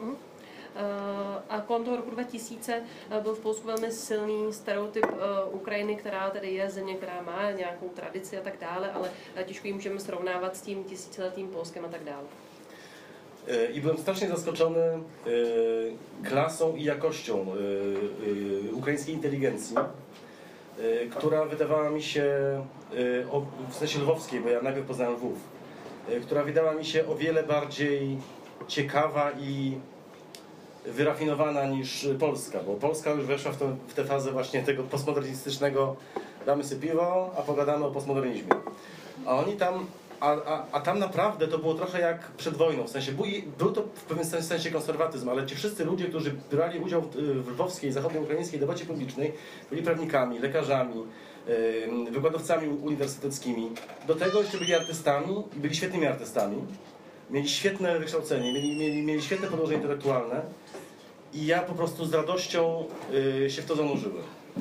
A kolem toho roku 2000 byl v Polsku velmi silný stereotyp Ukrajiny, která tedy je země, která má nějakou tradici a tak dále, ale těžko ji můžeme srovnávat s tím tisíciletým Polskem a tak dále. I byłem strasznie zaskoczony klasą i jakością ukraińskiej inteligencji, która wydawała mi się, w sensie lwowskiej, bo ja najpierw poznałem Lwów, która wydała mi się o wiele bardziej ciekawa i wyrafinowana niż Polska, bo Polska już weszła w tę fazę właśnie tego postmodernistycznego, damy sobie piwo, a pogadamy o postmodernizmie. A oni tam, a tam naprawdę to było trochę jak przed wojną, w sensie był to w pewnym sensie konserwatyzm, ale ci wszyscy ludzie, którzy brali udział w lwowskiej, zachodnioukraińskiej debacie publicznej, byli prawnikami, lekarzami, wykładowcami uniwersyteckimi. Do tego jeszcze byli artystami i byli świetnymi artystami. Mieli świetne wykształcenie, mieli świetne podłoże intelektualne i ja po prostu z radością się w to zanurzyłem.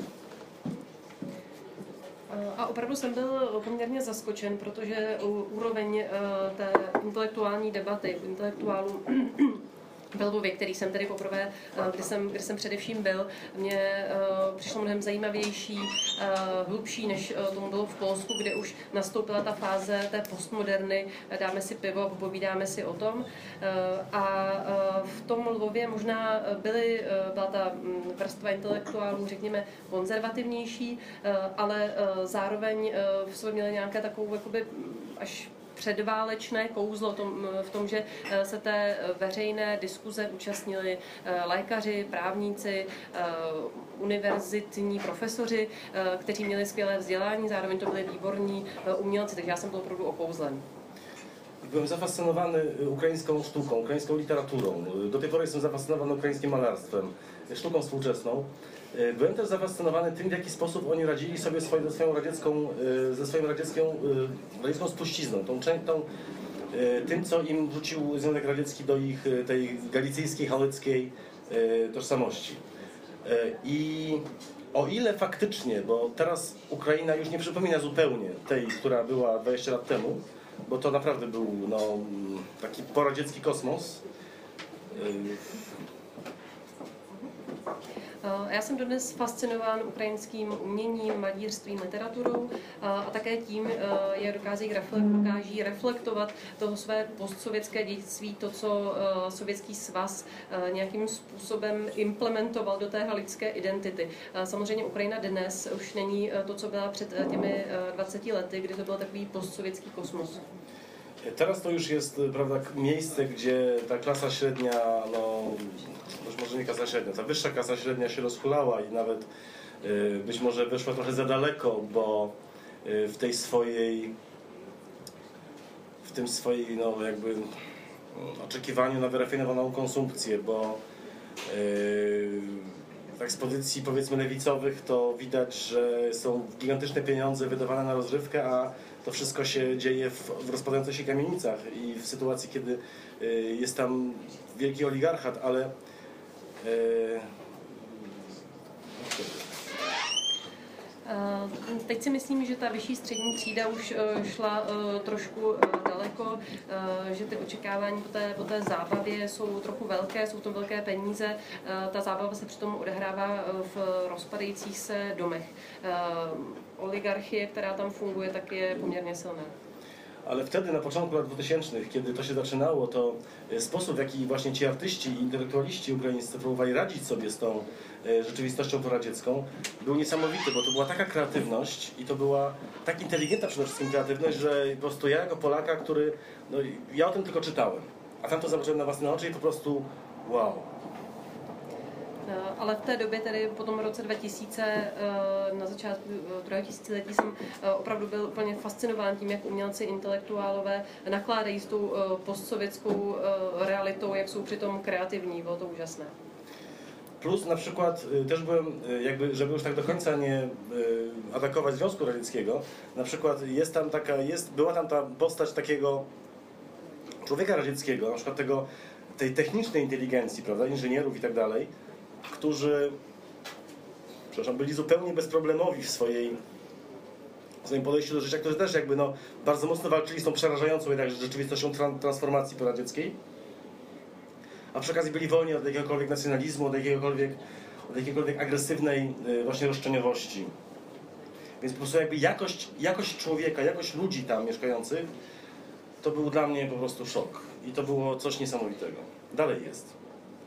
A opravdu jsem byl poměrně zaskočen, protože úroveň té intelektuální debaty intelektuálů ve Lvově, který jsem tedy poprvé, kde jsem především byl, mně přišlo mnohem zajímavější, hlubší, než tomu bylo v Polsku, kde už nastoupila ta fáze té postmoderny, dáme si pivo a popovídáme si o tom. A v tom Lvově možná byla ta vrstva intelektuálů, řekněme, konzervativnější, ale zároveň v sobě měli nějaké takovou jakoby až předválečné kouzlo v tom, že se té veřejné diskuze účastnili lékaři, právníci, univerzitní profesoři, kteří měli skvělé vzdělání, zároveň to byli výborní umělci, takže já jsem byl opravdu okouzlen. Byłem zafascynowany ukraińską sztuką, ukraińską literaturą. Do tej pory jestem zafascynowany ukraińskim malarstwem, sztuką współczesną. Byłem też zafascynowany tym, w jaki sposób oni radzili sobie ze swoją radziecką spuścizną, tym, co im wrzucił Związek Radziecki do ich tej galicyjskiej, hałyckiej tożsamości. I o ile faktycznie, bo teraz Ukraina już nie przypomina zupełnie tej, która była 20 lat temu, bo to naprawdę był taki poradziecki kosmos. Já jsem dodnes fascinován ukrajinským uměním, malířstvím, literaturou a také tím, jak dokáží reflektovat toho své postsovětské dědictví, to, co Sovětský svaz nějakým způsobem implementoval do té haličské identity. Samozřejmě Ukrajina dnes už není to, co byla před těmi 20 lety, kdy to byl takový postsovětský kosmos. Teraz to już jest, prawda, miejsce, gdzie ta klasa średnia, może nie klasa średnia, ta wyższa klasa średnia się rozhulała i nawet być może wyszła trochę za daleko, bo w tym swojej jakby oczekiwaniu na wyrafinowaną konsumpcję, bo tak z pozycji powiedzmy lewicowych to widać, że są gigantyczne pieniądze wydawane na rozrywkę, a to wszystko się dzieje w rozpadających się kamienicach i w sytuacji, kiedy jest tam wielki oligarchat, ale Teď si myslím, že ta vyšší střední třída už šla trošku daleko, že ty očekávání po té zábavě jsou trochu velké, jsou to velké peníze. Ta zábava se přitom odehrává v rozpadajících se domech. Oligarchie, která tam funguje, tak je poměrně silná. Ale wtedy, na początku lat 2000, kiedy to się zaczynało, to sposób, w jaki właśnie ci artyści i intelektualiści ukraińscy próbowali radzić sobie z tą rzeczywistością poradziecką, był niesamowity, bo to była taka kreatywność i to była tak inteligentna przede wszystkim kreatywność, że po prostu ja jako Polaka, ja o tym tylko czytałem, a tam to zobaczyłem na własne oczy i po prostu wow. Ale v té době, tedy po tom roce 2000, na začátku druhého tisíciletí, jsem opravdu byl úplně fascinován tím, jak umělci, intelektuálové nakládají s tou postsovětskou realitou, jak jsou přitom kreativní. Bylo to úžasné. Plus na przykład też byłem, żeby już tak do końca nie atakować Związku Radzieckiego, na przykład była tam ta postać takiego człowieka radzieckiego, na przykład tej technicznej inteligencji, prawda, inżynierów i tak dalej, którzy byli zupełnie bezproblemowi w swoim podejściu do życia, którzy też bardzo mocno walczyli z tą przerażającą jednak rzeczywistością transformacji poradzieckiej, a przy okazji byli wolni od jakiegokolwiek nacjonalizmu, od jakiejkolwiek agresywnej właśnie roszczeniowości. Więc po prostu jakość człowieka, jakość ludzi tam mieszkających, to był dla mnie po prostu szok. I to było coś niesamowitego. Dalej jest.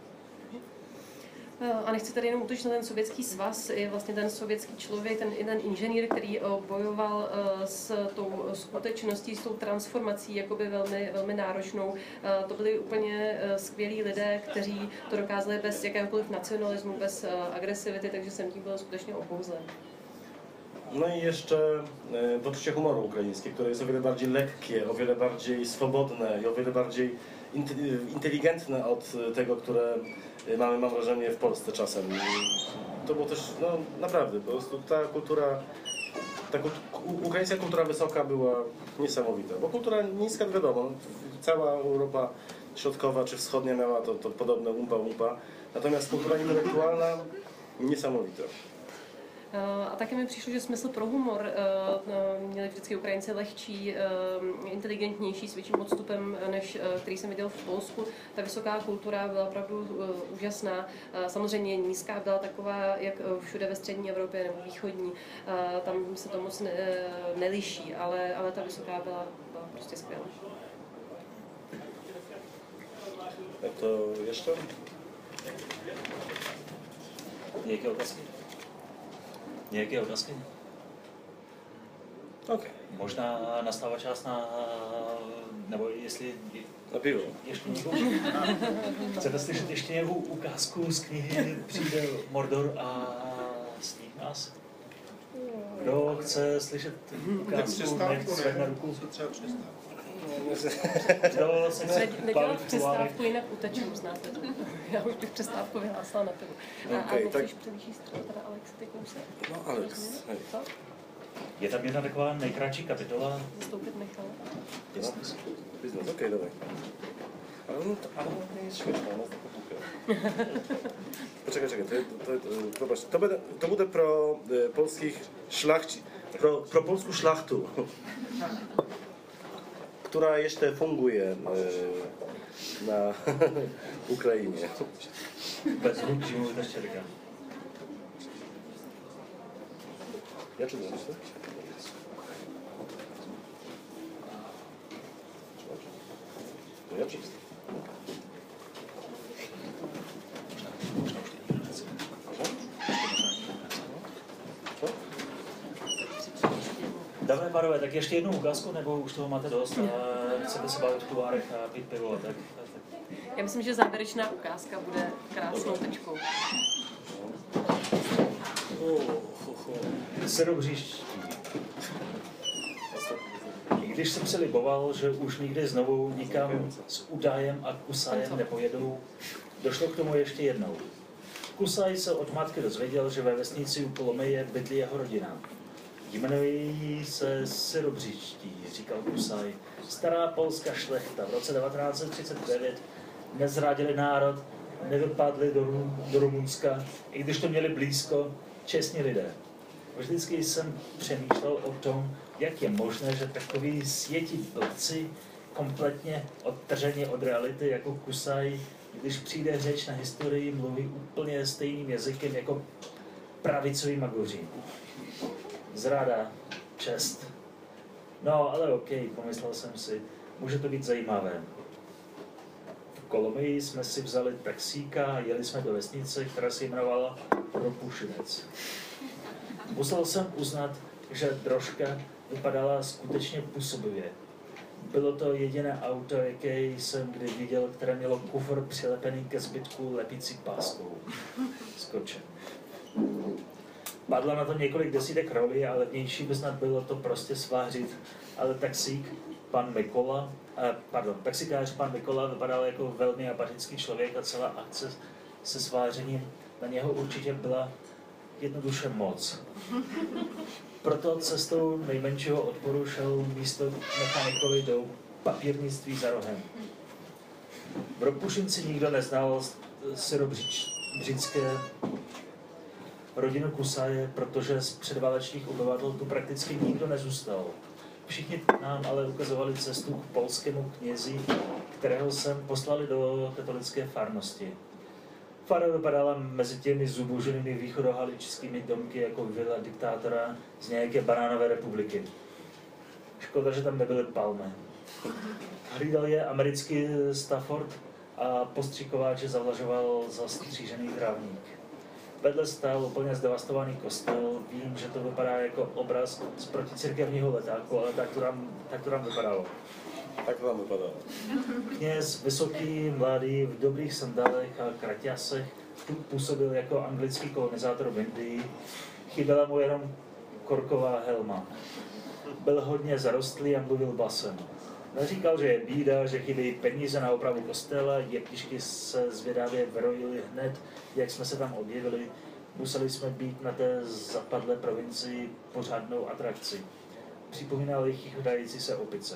A nechci tady jenom útočit na ten sovětský svaz, je vlastně ten sovětský člověk, ten inženýr, který bojoval s tou skutečností, s tou transformací, jakoby velmi náročnou. To byli úplně skvělí lidé, kteří to dokázali bez jakéhokoliv nacionalismu, bez agresivity, takže jsem tím byl skutečně okouzlen. No i jeszcze poczucie humoru ukraińskie, które jest o wiele bardziej lekkie, o wiele bardziej swobodne i o wiele bardziej inteligentne od tego, które mamy, mam wrażenie, w Polsce czasem. To było też, no naprawdę, po prostu ta kultura, ukraińska kultura wysoka była niesamowita, bo kultura niska, wiadomo, cała Europa Środkowa czy Wschodnia miała to podobne umpa, natomiast kultura intelektualna niesamowita. A také mi přišlo, že smysl pro humor měli vždycky Ukrajinci lehčí, inteligentnější, s větším odstupem, než který jsem viděl v Polsku. Ta vysoká kultura byla opravdu úžasná. Samozřejmě nízká byla taková, jak všude ve střední Evropě nebo východní. Tam se to moc neliší, ale ta vysoká byla prostě skvělá. Jak to ještě? Jaké otázky? Nějaké otázky? Ok. Možná nastává čas na... nebo jestli... Na pivo. Ještě někdo? Chcete slyšet ještě nějakou ukázku z knihy Přijde Mordor a sníh nás? Kdo chce slyšet ukázku, nech zvedne ruku. Kdo se chce Nedělat přestávku, jinak uteču, znáte to. Já už bych přestávku vyhlásila na pivu. Okay, a tak... přelíží stranu teda Alex, ty kousek. No Alex, hej. Co? Je tam jedna taková nejkratší kapitola. Zastoupit Michala. Biznes, okej, dawaj. Ale nie jest śmieszne, ona jest taka głupia. Poczekaj, zobacz, to bude pro polskich szlachci, pro polską szlachtu, która jeszcze funguje na Ukrainie. Bez ruк zimujte štěrka. Ja czy nie? Ja czysto. Dáme, pánové, tak ještě jednu ukázku, nebo už toho máte dost a chcete se bavit v kulárech a pít pivo, tak. Já myslím, že závěrečná ukázka bude krásnou tečkou. Syrovříští. I když jsem si liboval, že už nikdy znovu nikam s Udajem a Kusajem nepojedou, došlo k tomu ještě jednou. Kusaj se od matky dozvěděl, že ve vesnici u Kolomeje bydlí jeho rodina. Jmenují se Syrovříští, říkal Kusaj. Stará polská šlechta v roce 1939 nezradili národ, nevypadli do Rumunska, i když to měli blízko, čestní lidé. Vždycky jsem přemýšlel o tom, jak je možné, že takoví světí blbci, kompletně odtrženi od reality jako Kusaj, když přijde řeč na historii, mluví úplně stejným jazykem jako pravicoví magoři. Zrada, čest. No, ale OK, pomyslel jsem si, může to být zajímavé. V Kolomii jsme si vzali taxíka a jeli jsme do vesnice, která se jmenovala Ropušinec. Musel jsem uznat, že drožka vypadala skutečně působivě. Bylo to jediné auto, jaké jsem kdy viděl, které mělo kufr přilepený ke zbytku lepící páskou. Skoče. Padlo na to několik desítek rolí, ale levnější by snad bylo to prostě svářit. Ale taxikář pan Mikola vypadal jako velmi apatický člověk a celá akce se svářením na něho určitě byla jednoduše moc. Proto cestou nejmenšího odporu šel místo mechanikovi do papírnictví za rohem. V Ropušinci nikdo neznal syrovřícké rodinu Kusaje, protože z předválečných obyvatel tu prakticky nikdo nezůstal. Všichni nám ale ukazovali cestu k polskému knězi, kterého jsem poslali do katolické farnosti. Fara vypadala mezi těmi zuboženými východohaličskými domky jako vila diktátora z nějaké banánové republiky. Škoda, že tam nebyly palmy. Hlídal je americký Stafford a postřikováč zavlažoval zastřížený trávník. Vedle stál úplně zdevastovaný kostel. Vím, že to vypadá jako obraz z proticirkevního letáku, ale tak to tam vypadalo. Tak to tam vypadalo. Kněz, vysoký, mladý, v dobrých sandálech a kraťasech, tu působil jako anglický kolonizátor v Indii. Chyběla mu jenom korková helma. Byl hodně zarostlý a mluvil basem. Neříkal, že je bída, že chybějí peníze na opravu kostela, jeptišky se zvědavě vrojily hned, jak jsme se tam objevili. Museli jsme být na té zapadlé provincii pořádnou atrakci. Připomínali chichotající se opice.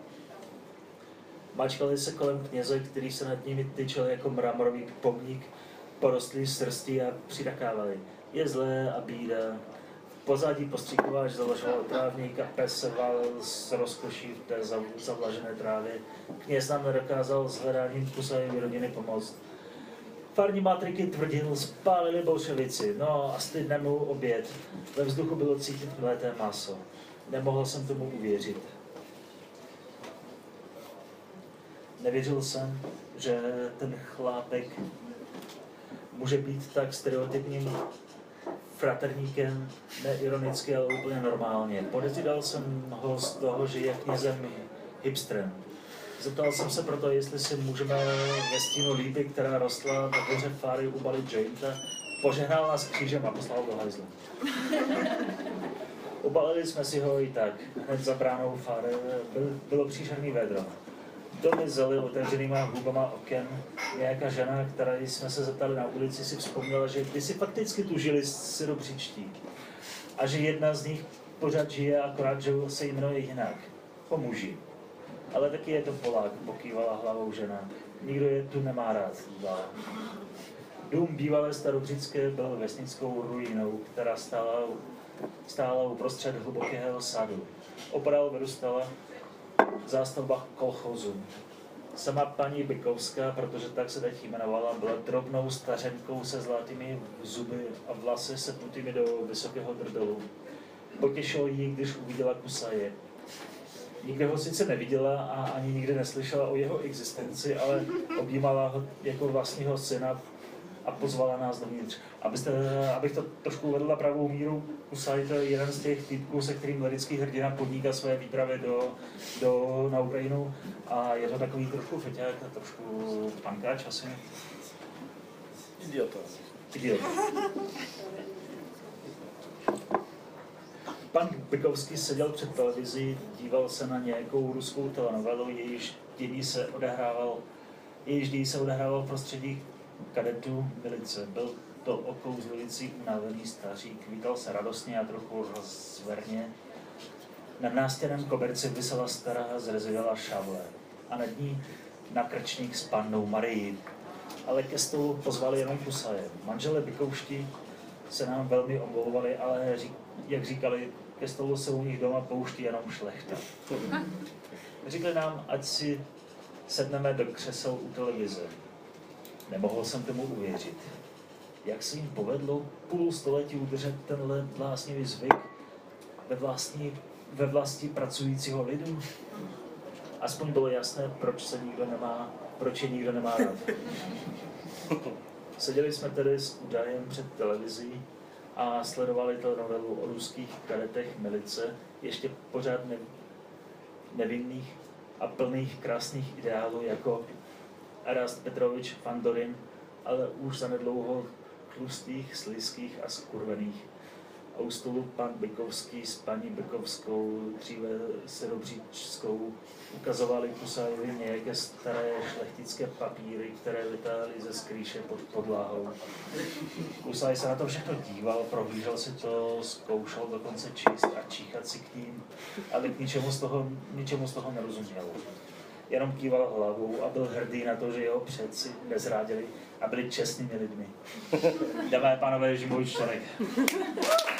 Mačkali se kolem kněze, který se nad nimi tyčel jako mramorový pomník, porostlý srstí a přitakávali. Je zlé a bída. V pozadí postřikováč zavlažoval trávník a pes se válel s rozkoší v té zavlažené trávě. Kněz nám nedokázal s hledáním Kusajovy rodiny pomoct. Farní matriky tvrdil, spálili bolševici, no a stydne mu oběd. Ve vzduchu bylo cítit mlété maso. Nemohl jsem tomu uvěřit. Nevěřil jsem, že ten chlápek může být tak stereotypním fraterníkem, neironicky, ale úplně normálně. Podezříval jsem ho z toho, že je knězem hipstrem. Zeptal jsem se proto, jestli si můžeme ve stínu lípy, která rostla na dvoře fáry, ubalit jointa. Požehnal nás křížem a poslal do hajzlu. Ubalili jsme si ho i tak. Hned za bránou fáry bylo příšerný vedro. Domy zely otevřenýma hubama oken. Nějaká žena, která jsme se zeptali na ulici, si vzpomněla, že kdysi fakticky tu žili syropříčtí. A že jedna z nich pořád žije, akorát že se jmenuje jinak. Po muži. Ale taky je to Polák, pokývala hlavou žena. Nikdo je tu nemá rád, dodala. Dům bývalé starobřické byl vesnickou ruinou, která stála uprostřed hlubokého sadu. Opodál vyrůstala zástavba kolchozu. Sama paní Bykovská, protože tak se teď jmenovala, byla drobnou stařenkou se zlatými zuby a vlasy sepnutými do vysokého drdelu. Potěšilo jí, když uviděla Kusaje. Nikde ho sice neviděla a ani nikdy neslyšela o jeho existenci, ale objímala ho jako vlastního syna a pozvala nás dovnitř. Abych to trošku uvedl na pravou míru, Kusaj to je jeden z těch týpků, se kterým lirický hrdina podniká své výpravy na Ukrajinu a je to takový trošku feťák a trošku pankáč asi. Idiota. Pan Bykovský seděl před televizí, díval se na nějakou ruskou telenovelu, jejíž dění se odehrával v prostředí kadetů milice. Byl to okouzlující unavený stařík, vítal se radostně a trochu rozverně. Na nástěnném koberci visela stará zrezivělá šavle a nad ní nakrčník s pannou Marii. Ale ke stolu pozvali jenom Kusaje. Manželé Bykovští se nám velmi omlouvali, ale jak říkali, ke stolu se u nich doma pouští jenom šlechta. Řekli nám, ať si sedneme do křesel u televize. Nemohl jsem tomu uvěřit. Jak se jim povedlo půl století udržet tenhle bláznivý zvyk ve vlasti pracujícího lidu? Aspoň bylo jasné, proč je nikdo nemá rád. Seděli jsme tedy s údajem před televizí a sledovali telenovelu o ruských kadetech milice, ještě pořád nevinných a plných krásných ideálů jako Erast Petrovič Fandorin, ale už zanedlouho tlustých, slizkých a skurvených. A u stolu pan Bykovský s paní Bykovskou, dříve syropříčskou, ukazovali Kusajovi nějaké staré šlechtické papíry, které vytáhli ze skrýše pod podláhou. Kusaj se na to všechno díval, prohlížel si to, zkoušel dokonce číst a číchat si k ním, ale k ničemu z toho nerozuměl. Jenom kýval hlavou a byl hrdý na to, že jeho předci nezrádili a byli čestnými lidmi. Dámy a pánové, Žimový Čtvrtek.